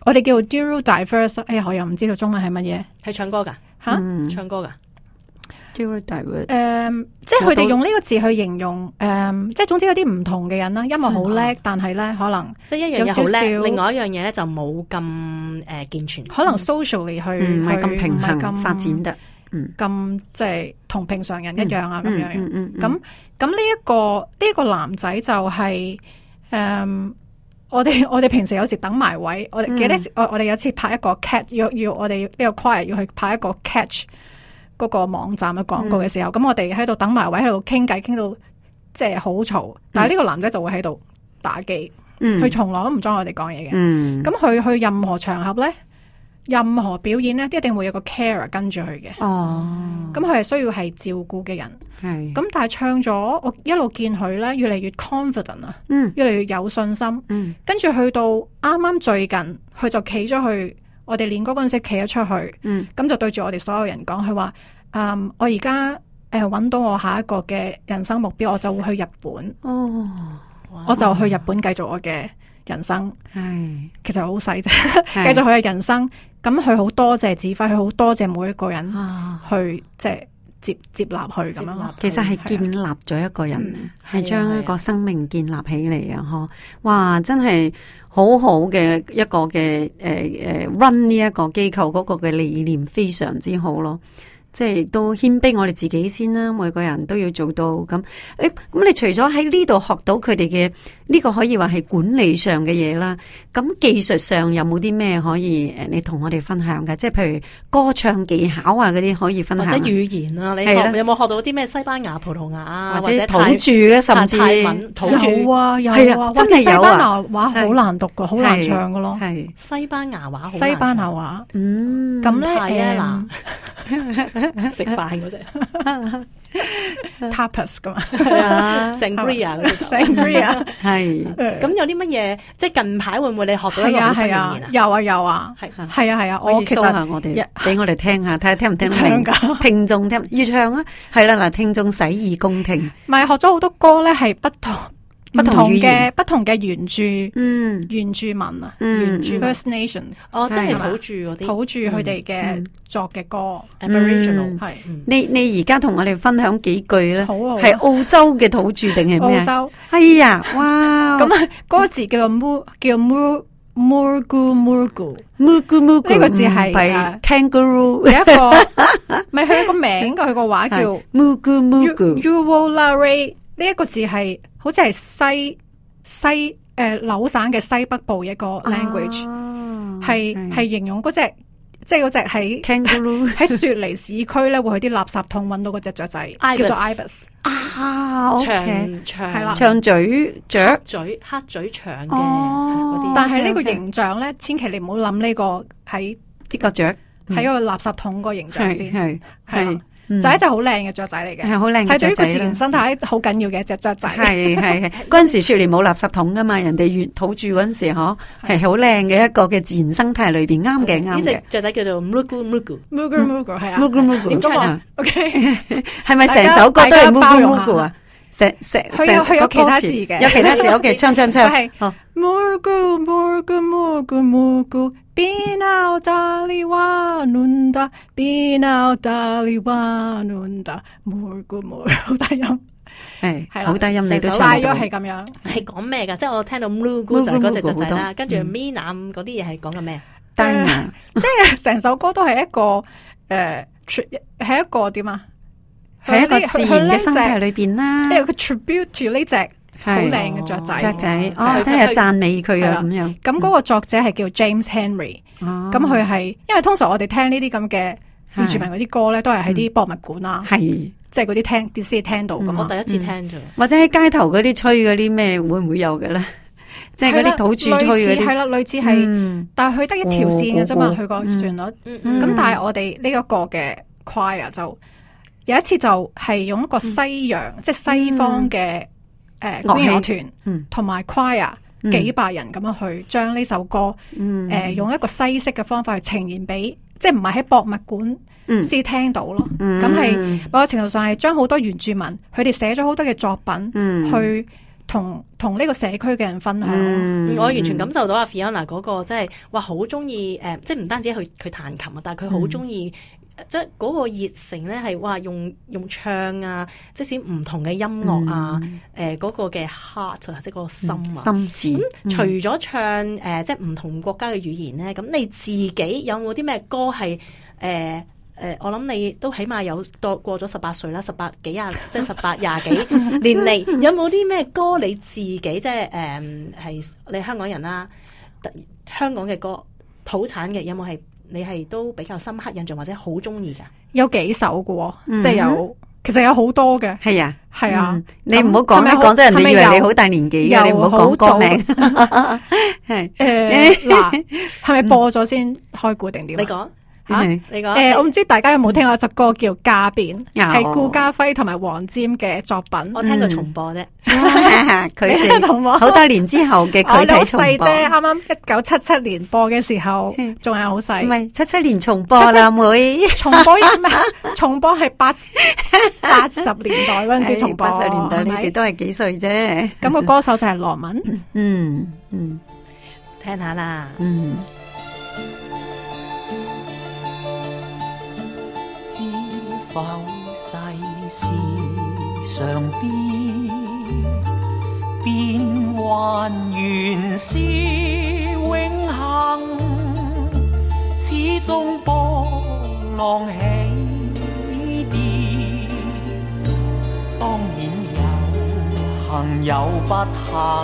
我哋叫 neurodiverse， 哎呀，我又唔知道中文係乜嘢， 係唱歌噶吓，嗯、唱歌噶。 誒、嗯，即係佢哋用呢個字去形容，誒、嗯，即係總之有啲唔同嘅人啦，音樂好叻，但係咧可能即係一樣嘢好叻，另外一樣嘢咧就冇咁誒健全， 可能 socially 去唔係咁平衡發展得， 嗯，咁即係同平常人一樣啊，咁樣樣，咁咁呢一個呢一個男仔就係、是、誒、嗯，我哋我哋平時有時等埋位，我哋記得我我哋有次拍一個 catch， 要要我哋呢個 choir 要去拍一個 catch。嗰個網站嘅廣告嘅時候，咁、嗯、我哋喺度等埋位，喺度傾偈，傾到即係好嘈。但係呢個男仔就會喺度打機，佢、嗯、從來都唔裝我哋講嘢嘅。咁佢、嗯、去任何場合咧，任何表演咧，一定會有個 carer 跟住佢嘅。哦，咁佢係需要係照顧嘅人。係咁，但係唱咗，我一路見佢咧，越嚟越 confident 啊，嗯，越嚟越有信心。嗯，跟住去到啱啱最近，佢就企咗去。我哋練歌嗰陣時企咗出去，咁、嗯、就對住我哋所有人講，佢話：嗯，我而家誒揾到我下一個嘅人生目標，我就會去日本。哦，我就去日本繼續我嘅人生。係，其實好細啫，繼續佢嘅人生。咁佢好多謝指揮，佢好多謝每一個人去即係接接納佢咁樣。 其實係建立咗一個人，係將一個生命建立起嚟啊！嗬，哇，真係〜好好嘅一個嘅誒誒 run 呢一個機構嗰個嘅理念非常之好咯，即係都謙卑我哋自己先啦，每個人都要做到咁。誒，咁你除咗喺呢度學到佢哋嘅呢個可以話係管理上嘅嘢啦，咁技術上有冇啲咩可以誒你同我哋分享嘅？即係譬如歌唱技巧啊嗰啲可以分享， 或者語言啊，你學有冇學到啲咩西班牙、葡萄牙啊， 或者土著嘅，甚至泰文土著有啊有啊， 真係有啊！ 西班牙話好難讀噶，好難唱噶咯。係西班牙話， 西班牙話，嗯，咁咧誒， 食飯嗰隻 tapas 噶嘛， 係啊 ，sangria 嗰隻 sangria 係。 咁有啲乜嘢？即係近排會唔會你學到一個新語言啊？ 有啊有啊，係係啊係啊， 我其實我哋俾我哋聽下，睇下聽唔聽得明？聽眾聽要唱啊，係啦嗱，聽眾洗耳恭聽。 唔係學咗好多歌咧，係不同不同嘅不同嘅原住嗯原住民啊，原住 First Nations 哦，即係土著嗰啲土著佢哋嘅作嘅歌 Aboriginal 係。 你你而家同我哋分享幾句咧？係澳洲嘅土著定係咩？ 澳洲係啊，哇！ 咁啊，嗰個字叫做 Mu 叫 Mu Murgu Murgu Murgu Murgu 呢個字係 Kangaroo 有一個，咪佢有個名噶，佢個話叫 Murgu Murgu Uwolari 呢一個字係好似係西西誒、呃、紐省嘅西北部一個 language，係係、哦、形容嗰隻即係嗰隻喺 kangaroo 喺雪梨市區咧，會去啲垃圾桶揾到嗰隻雀仔，Ibis. 叫做 ibis 啊， 長長係啦， 長嘴雀嘴黑嘴長嘅嗰啲， 但係呢個形象咧，千祈你唔好諗呢個喺呢個雀喺個垃圾桶個形象先，係係。 就係一隻好靚嘅雀仔嚟嘅， 係好靚嘅雀仔，係對於個自然生態好緊要嘅一隻雀仔。 係係係，嗰陣時雪梨冇垃圾桶噶嘛，人哋原土著嗰陣時嗬，係好靚嘅一個嘅自然生態裏邊，啱嘅啱嘅。 呢隻雀仔叫做 Mugu Mugu Mugu Mugu 係啊 ，Mugu Mugu 點講啊 ？OK， 係咪成首歌都係 Mugu Mugu 啊？成成佢有佢有其他字嘅， 有其他字。OK，唱唱唱。 好 Mugu Mugu Mugu Mugu。Binau Daliwa Nunda Binau Daliwa Nunda Murgu Murgu 好低音， 係係啦，好低音你都唱到，係咁樣， 係講咩噶？即係我聽到 Murgu 就係嗰隻雀仔啦，跟住 Minam 嗰啲嘢係講緊咩？ 單啊， 即係成首歌都係一個誒，係一個點啊？ 係一個自然嘅生態裏邊啦， 一個 tribute to 呢隻。好靚嘅雀仔， 雀仔哦，真係讚美佢啊咁樣。 咁嗰個作者係叫 James Henry，咁佢係因為通常我哋聽呢啲咁嘅原住民嗰啲歌咧，都係喺啲博物館啊，係即係嗰啲聽電視聽到噶嘛。 我第一次聽咗， 或者喺街頭嗰啲吹嗰啲咩，會唔會有嘅咧？即係嗰啲土著吹嗰啲， 係啦，類似係，但係佢得一條線嘅啫嘛，佢個旋律。咁但係我哋呢一個嘅 choir 就有一次就係用一個西洋，即係西方嘅。誒，管樂團同埋 choir 幾百人咁樣去將呢首歌，誒、嗯呃、用一個西式嘅方法去呈現俾，即係唔係喺博物館先聽到咯。咁係某個程度上係將好多原住民佢哋寫咗好多嘅作品，嗯、去同同呢個社區嘅人分享。 嗯、我完全感受到阿 Fiona 嗰個即係話好中意誒，即係唔單止佢佢彈琴啊，但係佢好中意。即係嗰個熱誠咧，係話用用唱啊，即使唔同嘅音樂啊，誒嗰、嗯呃那個嘅 heart 啊，即係嗰個心啊， 心智。咁、 嗯、除咗唱誒、呃，即係唔同國家嘅語言咧，咁你自己有冇啲咩歌係誒誒？我諗你都起碼有多過咗十八歲啦，十八幾廿，即係十八廿幾年嚟，有冇啲咩歌你自己即係誒係你香港人啦，香港嘅歌土產嘅有冇係？你係都比較深刻印象或者好中意噶？有幾首嘅， 嗯、即係有，其實有好多嘅。係啊， 係啊， 嗯、你唔好講啦，講真人哋以為你好大年紀嘅，你唔好講歌名。係誒，嗱，係咪播咗先開估定點？ 你講。 吓，你講誒，我唔知大家有冇聽過一首歌叫《家變》，係顧嘉輝同埋黃霑嘅作品。我聽過重播啫， 佢哋好多年之後嘅佢睇重播啫。啱啱一九七七年播嘅時候，仲係好細。 唔係七七年重播啦，妹。 重播有咩？重播係八八十年代嗰陣時重播。 八十年代你哋都係幾歲啫？ 咁個歌手就係羅文。 嗯嗯， 聽下啦。 嗯。 否世事常變，變幻原是永恆，始終波浪起跌，當然有幸有不幸，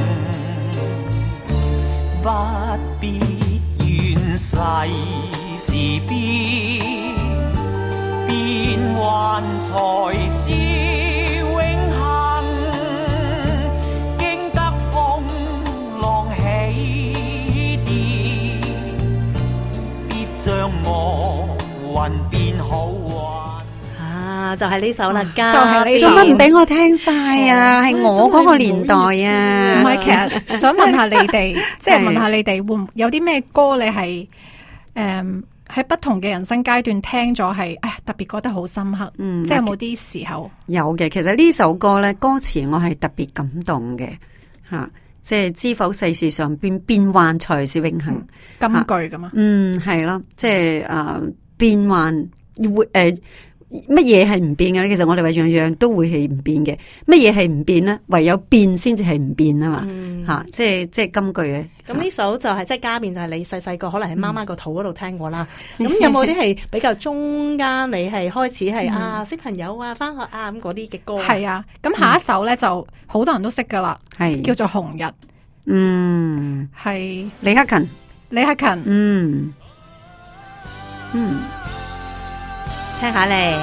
不必怨世事變，變幻才是永恆，經得風浪起跌，必將惡運變好運。 啊，就係呢首啦，家就係呢首。 做乜唔俾我聽晒啊？係我嗰個年代啊。 唔係，其實想問下你哋，即係問下你哋會唔有啲咩歌你係誒？喺不同嘅人生階段聽咗係，唉，特別覺得好深刻。嗯，即係有冇啲時候？ 有嘅，其實呢首歌咧，歌詞我係特別感動嘅，吓、啊，即係知否世事常變，變幻才是永恆。 金句噶嘛？ 嗯，係咯，即係誒，變幻會誒。乜嘢係唔變嘅咧？其實我哋話樣樣都會係唔變嘅。乜嘢係唔變咧？唯有變先至係唔變啊嘛。吓、嗯啊，即係即係金句嘅。 咁呢首就係、是、即係家變，就係你細細個可能喺媽媽個肚嗰度聽過啦。咁、嗯、有冇啲係比較中間？你係開始係、嗯、啊小朋友啊翻學啊咁嗰啲嘅歌？ 係啊。咁下一首咧、嗯、就好多人都識噶啦，係叫做紅日。 嗯， 係李克勤。 李克勤。 嗯嗯。 聽下嚟。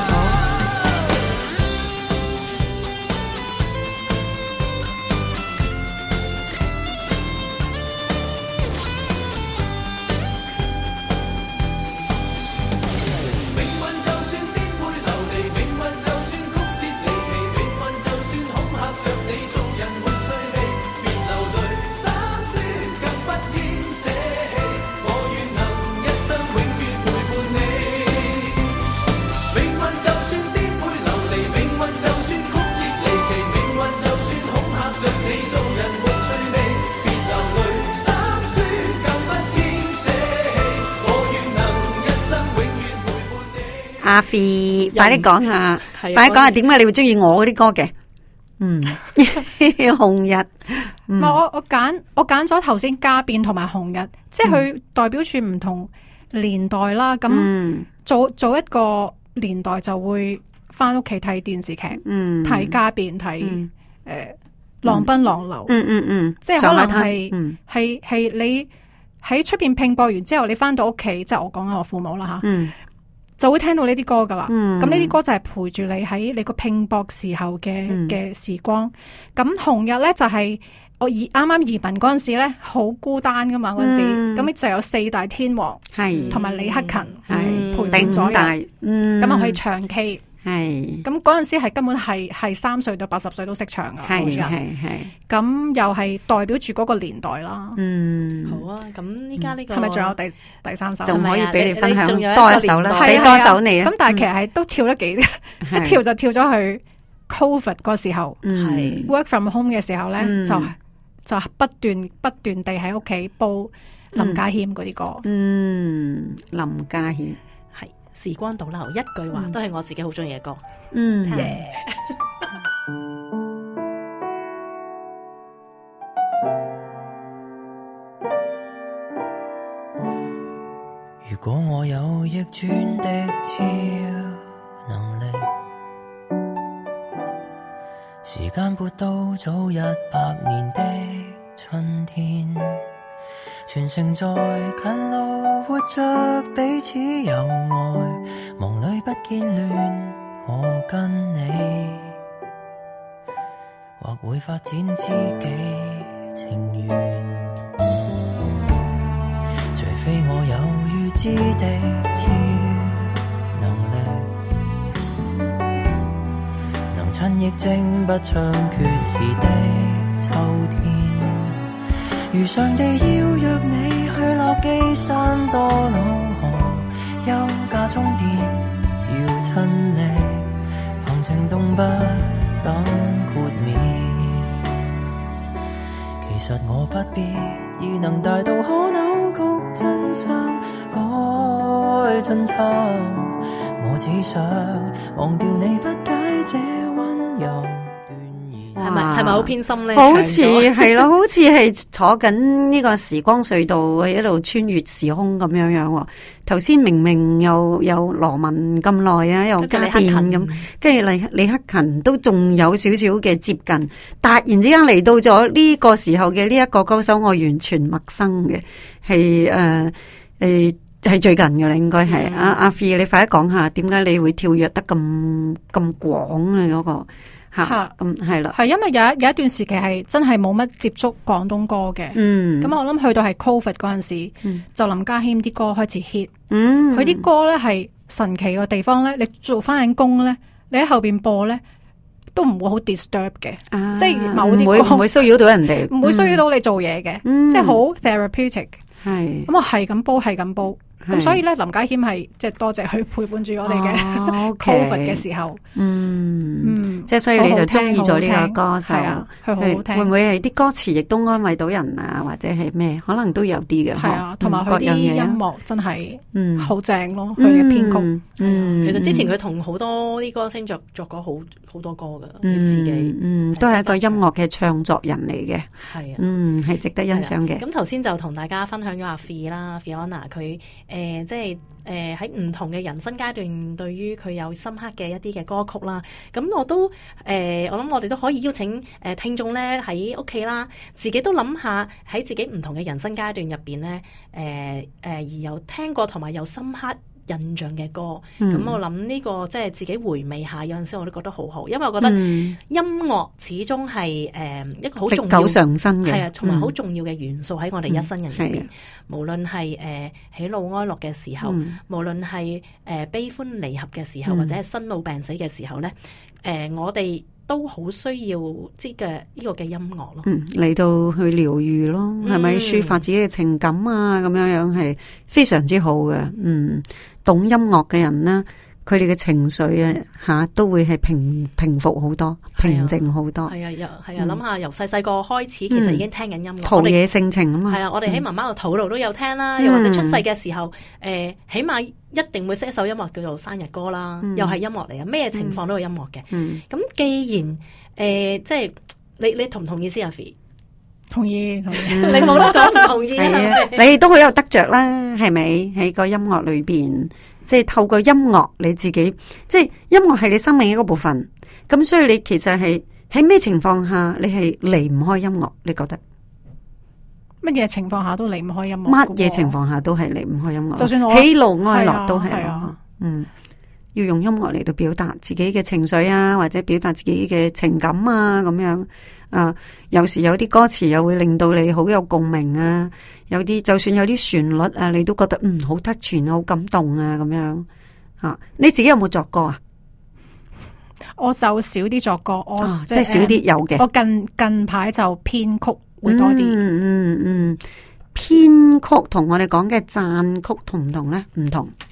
阿 Fi，快啲講下，快啲講下點解你會中意我嗰啲歌嘅？嗯，紅日，唔係我我揀我揀咗頭先家變同埋紅日，即係佢代表住唔同年代啦。咁早早一個年代就會翻屋企睇電視劇，睇家變，睇誒浪奔浪流， 嗯嗯嗯， 即係可能係係係你喺出邊拼搏完之後，你翻到屋企，即係我講緊我父母啦吓。就會聽到呢啲歌噶啦，咁呢啲歌就係陪住你喺你個拼搏時候嘅嘅、嗯、時光。咁紅日咧就係、是、我移啱啱移民嗰陣時咧，好孤單噶嘛嗰陣時，咁、嗯、就有四大天王係同埋李克勤係陪伴咗人，咁啊可以唱 K。係咁嗰陣時係根本係係三歲到八十歲都識唱噶，係係係。咁又係代表住嗰個年代啦。嗯，好啊。咁依家呢個係咪仲有第第三首？ 仲可以俾你分享多一首啦，俾多首你啊。 咁但係其實係都跳得幾，一跳就跳咗去 Covid 嗰時候，係 work from home 嘅時候咧，嗯、就就不斷不斷地喺屋企煲林家謙嗰啲歌。 嗯，林家謙係時光倒流，一句話、嗯、都係我自己好中意嘅歌。 嗯。 如果我有逆轉的超能力，時間撥到早一百年的春天，全城在近路活着，彼此有愛，夢裡不見亂，我跟你或會發展知己情緣，除非我有預知的超能力，能趁疫症不猖獗時的秋天，如上帝邀約你去落基山多瑙河休假充電，要親力旁情動不等豁免，其實我不必已能大到可扭曲真相改盡醜，我只想忘掉你不解這溫柔斷言， 係咪係咪好偏心咧？ 好似係咯，好似係坐緊呢個時光隧道喺度穿越時空咁樣樣。頭先明明又有羅文咁耐啊，又家變咁，跟住李李克勤都仲有少少嘅接近，突然之間嚟到咗呢個時候嘅呢一個歌手，我完全陌生嘅，係誒誒係最近嘅啦，應該係阿阿 Fee， 你快啲講下點解你會跳躍得咁咁廣啊嗰個？吓，咁係啦，係因為有一有一段時期係真係冇乜接觸廣東歌嘅，嗯，咁我諗去到係 Covid 嗰陣時，嗯、就林家謙啲歌開始 hit，嗯，佢啲歌咧係神奇嘅地方咧，你做翻緊工咧，你喺後邊播咧都唔會好 disturb 嘅，啊、即係某啲歌唔會騷擾到人哋，唔會騷擾到你做嘢嘅，嗯、即係好 therapeutic，係，咁我係咁煲係咁煲。咁所以咧，林家謙係即係多謝佢陪伴住我哋嘅 Covid 嘅時候，嗯嗯，即係所以你就中意咗呢個歌手，係啊，佢好好聽。會唔會係啲歌詞亦都安慰到人啊？或者係咩？可能都有啲嘅，係啊，同埋佢啲音樂真係嗯好正咯，佢嘅編曲。嗯， 其實之前佢同好多啲歌星作作過好好多歌噶，佢自己嗯都係一個音樂嘅創作人嚟嘅， 係啊， 嗯係值得欣賞嘅。 咁頭先就同大家分享咗阿 Fee 啦 ，Fiona 佢。誒、呃，即係誒喺唔同嘅人生階段，對於佢有深刻嘅一啲嘅歌曲啦。咁我都誒、呃，我諗我哋都可以邀請誒、呃、聽眾咧喺屋企啦，自己都諗下喺自己唔同嘅人生階段入邊咧，誒、呃、誒、呃、而有聽過同埋有深刻印象嘅歌，咁、嗯、我諗呢個即係自己回味下，有陣時我都覺得好好，因為我覺得音樂始終係誒一個好重要、歷久常新嘅，係啊，同埋好重要嘅元素喺我哋一生人入邊。嗯、無論係誒喜怒哀樂嘅時候，嗯、無論係誒悲歡離合嘅時候，嗯、或者係生老病死嘅時候咧，誒、呃、我哋都好需要即嘅呢個嘅音樂咯，嗯，嚟到去療愈咯，係咪、嗯、抒發自己嘅情感啊？咁樣樣係非常之好嘅，嗯，懂音樂嘅人呢，佢哋嘅情緒啊吓都會係平平復好多，平靜好多。係啊，又係啊，諗下由細細個開始，其實已經聽緊音樂，陶冶性情啊嘛。係啊，我哋喺媽媽個肚度都有聽啦，又或者出世嘅時候，誒，起碼一定會寫一首音樂叫做生日歌啦，又係音樂嚟啊，咩情況都有音樂嘅。咁既然誒，即係你你同唔同意先啊？Fee？同意，同意。你冇得講唔同意啊？你都好有得着啦，係咪？喺個音樂裏邊。即係透過音樂，你自己即係音樂係你生命一個部分，咁所以你其實係喺咩情況下你係離唔開音樂？你覺得乜嘢情況下都離唔開音樂？乜嘢情況下都係離唔開音樂？就算我喜怒哀樂都係咯，啊、嗯，要用音樂嚟到表達自己嘅情緒啊，或者表達自己嘅情感啊，咁樣啊，有時有啲歌詞又會令到你好有共鳴啊。有啲就算有啲旋律啊，你都覺得嗯好touch啊，好感動啊，咁樣啊，你自己有冇作歌啊？我就少啲作歌，我、哦、即係少啲有嘅。我近近排就編曲會多啲。嗯嗯嗯，編曲同我哋講嘅讚曲同唔同咧？唔同。編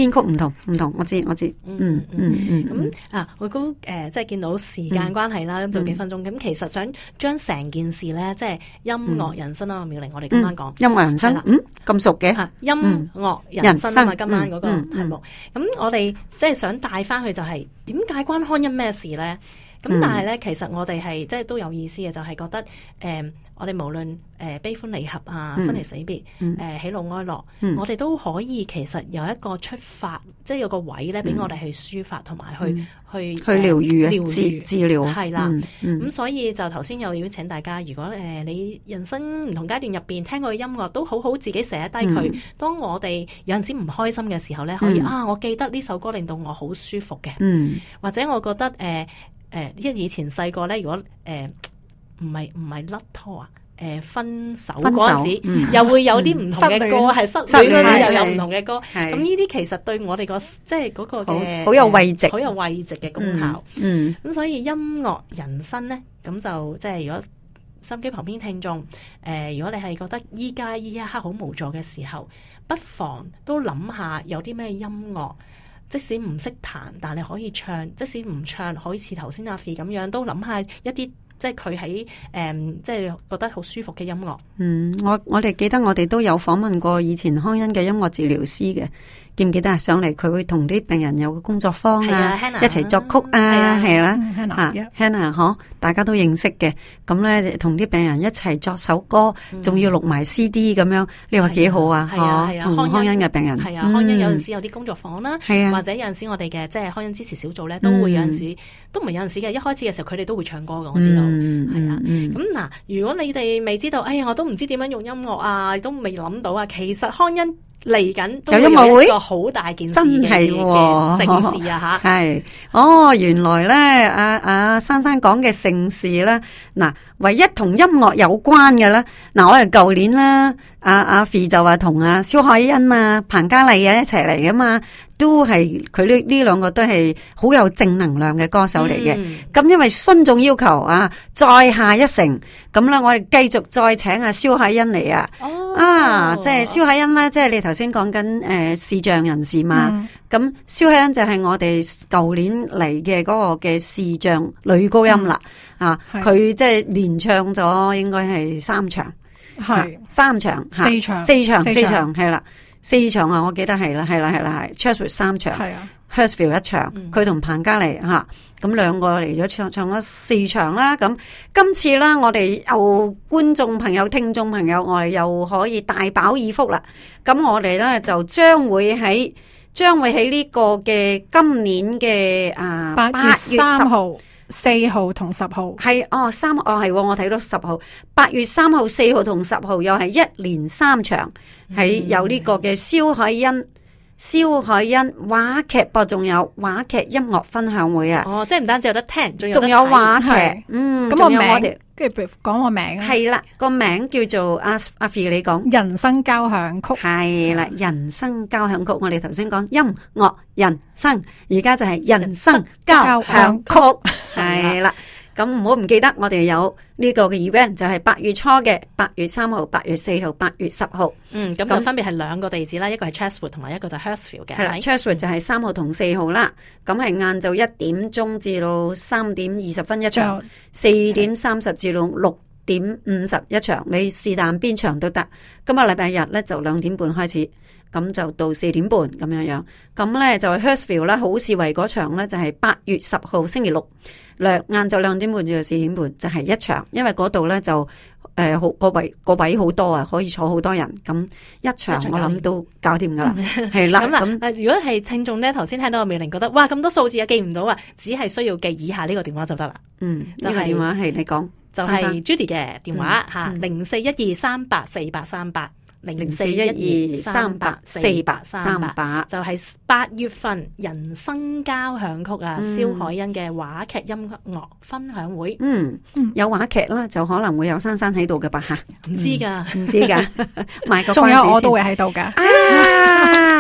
編曲唔同唔同，我知我知，嗯嗯嗯。 咁啊，我都誒即係見到時間關係啦，咁就幾分鐘。咁其實想將成件事咧，即係音樂人生啊，妙玲，我哋今晚講音樂人生，嗯咁熟嘅， 音樂人生啊嘛，今晚嗰個題目。咁我哋即係想帶翻去就係點解關康恩咩事咧？咁、嗯、但係咧，其實我哋係即係都有意思嘅，就係、是、覺得誒、呃，我哋無論誒、呃、悲歡離合啊、生離死別、誒、嗯呃、喜怒哀樂，嗯、我哋都可以其實有一個出發，即係有個位咧，俾我哋去抒發同埋去、嗯、去去療愈、療愈治療，係啦。咁、嗯嗯、所以就頭先又邀請大家，如果誒、呃、你人生唔同階段入邊聽過嘅音樂，都好好自己寫低佢。嗯、當我哋有陣時唔開心嘅時候咧，可以、嗯、啊，我記得呢首歌令到我好舒服嘅，嗯、或者我覺得誒。呃誒，因為以前細個咧，如果誒唔係唔係甩拖啊，誒、呃、分手嗰陣時，嗯、又會有啲唔同嘅歌，係、嗯、失戀嗰陣又有唔同嘅歌。咁呢啲其實對我哋、個即係嗰個嘅好有慰藉， 好有慰藉嘅功效。嗯，咁、嗯、所以音樂人生咧，咁就即係如果收音機旁邊聽眾，誒、呃，如果你係覺得依家依一刻好無助嘅時候，不妨都諗下有啲咩音樂。即使唔識彈，但你可以唱；即使唔唱，可以似頭先阿 Fee 咁樣，都諗下一啲即係佢喺誒，即係覺得好舒服嘅音樂。嗯， 我我哋記得我哋都有訪問過以前康恩嘅音樂治療師嘅。記唔記得啊？上嚟佢會同啲病人有個工作坊啊，一齊作曲啊，係啦，吓 Hannah 嗬，大家都認識嘅。咁咧，同啲病人一齊作首歌，仲要錄埋 C D 咁樣，你話幾好啊？ 係啊，係啊， 同康恩嘅病人係啊，康恩有陣時有啲工作坊啦，或者有陣時我哋嘅即係康恩支持小組咧，都會有陣時都唔係有陣時嘅。一開始嘅時候，佢哋都會唱歌嘅，我知道係啊。咁嗱，如果你哋未知道，哎呀，我都唔知點樣用音樂啊，都未諗到啊。其實康恩嚟緊都有一個好大件事嘅嘅盛事啊吓，係哦，原來咧阿阿珊珊講嘅盛事咧，嗱，唯一同音樂有關嘅咧，嗱，我哋舊年啦，阿阿 Fee 就話同阿蕭海欣啊、彭嘉麗啊一齊嚟噶嘛，都係佢呢呢兩個都係好有正能量嘅歌手嚟嘅。咁、嗯、因為孫總要求啊，再下一城，咁咧我哋繼續再請阿蕭海欣嚟啊。哦啊，即係蕭海欣咧，即係你頭先講緊誒視障人士嘛，咁蕭海欣就係我哋舊年嚟嘅嗰個嘅視障女高音啦，嗯、啊，佢即係連唱咗應該係三場，係、啊、三場， 四場， 四場，四場係啦，四場啊，我記得係啦，係啦，係啦，係 Chatswood 三場，係啊。Hurstville 一場，佢同彭嘉麗吓，咁兩個嚟咗唱唱咗四場啦。咁今次啦，我哋又觀眾朋友、聽眾朋友，我哋又可以大飽耳福啦。咁我哋咧就將會喺將會喺呢個嘅今年嘅啊八月三號、四號同十號係哦三哦係，我睇到十號，八月三號、四號同十號又係一連三場，喺有呢個嘅蕭海欣。蕭海欣話劇播，仲有話劇音樂分享會啊！ 哦，即係唔單止有得聽，仲有仲有話劇。嗯， 咁個名，跟住講個名啊。 係啦，個名叫做阿阿 Fee 你講人生交響曲。 係啦，人生交響曲。我哋頭先講音樂人生，而家就係人生交響曲。係啦。咁唔好唔記得，我哋有呢個嘅 event 就係八月初嘅八月三號、八月四號、八月十號。嗯，咁就分別係兩個地址啦，一個係 Chatswood 同埋一個就係 Hurstville 嘅。係啦 ，Chatswood 就係三號同四號啦。咁係晏晝一點鐘至到三點二十分一場，四點三十至到六點五十一場。你是但邊場都得。今日禮拜日咧就兩點半開始，咁就到四點半咁樣樣。咁咧就係 Hurstville 啦，好市圍嗰場咧就係八月十號星期六。兩晏晝兩點半至到四點半就係一場，因為嗰度咧就誒好個位個位好多啊，可以坐好多人。咁一場我諗都搞掂噶啦，係啦。咁嗱，如果係聽眾咧，頭先聽到阿妙玲覺得哇咁多數字啊記唔到啊，只係需要記以下呢個電話就得啦。嗯，呢個電話係你講，就係 Judy 嘅電話吓，零四一二三八四八三八。零四一二三八四八三八就係八月份人生交響曲啊，蕭海欣嘅話劇音樂分享會。嗯，有話劇啦，就可能會有珊珊喺度嘅吧吓，唔知噶，唔知噶，賣個關子先。仲有我都會喺度噶。啊，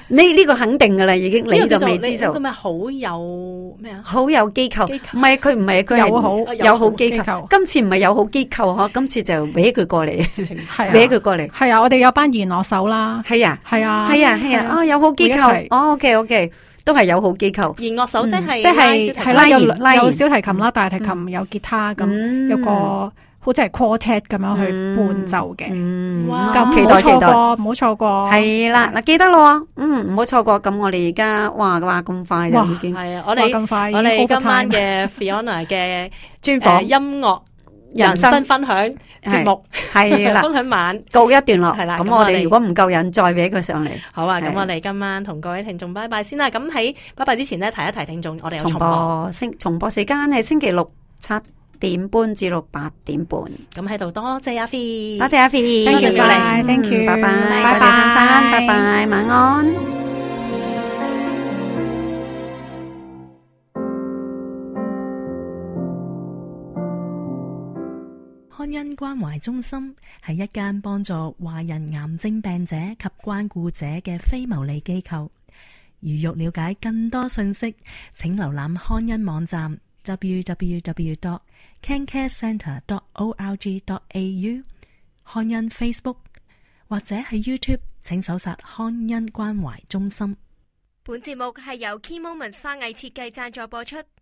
呢呢個肯定噶啦，已經你就未知就咁咪好有咩啊？ 好有機構，唔係佢唔係佢係友好友好機構。今次唔係友好機構嗬，今次就搲佢過嚟，搲佢過嚟。 係啊，我哋有班弦樂手啦。 係啊， 係啊， 係啊，係啊。哦，友好機構。哦，OK OK，都係友好機構。 弦樂手即係即係係啦，有有小提琴啦、大提琴、 嗯、 有吉他咁，有個。好似係 quartet 咁樣去伴奏嘅，咁唔好錯過，唔好錯過。 係啦，嗱記得咯，嗯，唔好錯過。咁我哋而家哇話咁快就已經係啊！我哋咁快， 我哋今晚嘅 Fiona 嘅專訪音樂人生分享節目係啦， 分享晚告一段落。 係啦， 咁我哋如果唔夠人，再俾佢上嚟。 好啊，咁我哋今晚同各位聽眾拜拜先啦。咁喺拜拜之前呢，提一提聽眾，我哋有重播星重播時間係星期六七點半至到八點半， 咁喺度多謝阿 Fi， 多謝阿 Fi，thank you 晒 ，thank you， 拜拜， 拜拜， 多謝珊珊，拜拜，晚安。 康恩關懷中心係一間幫助華人癌症病者及關顧者嘅非牟利機構。如欲了解更多信息，請瀏覽康恩網站 double-u double-u double-u dot cancare centre dot org dot a u， 康恩 Facebook 或者喺 YouTube 請搜索康恩關懷中心。 本節目係由 Key Moments 花藝設計贊助播出。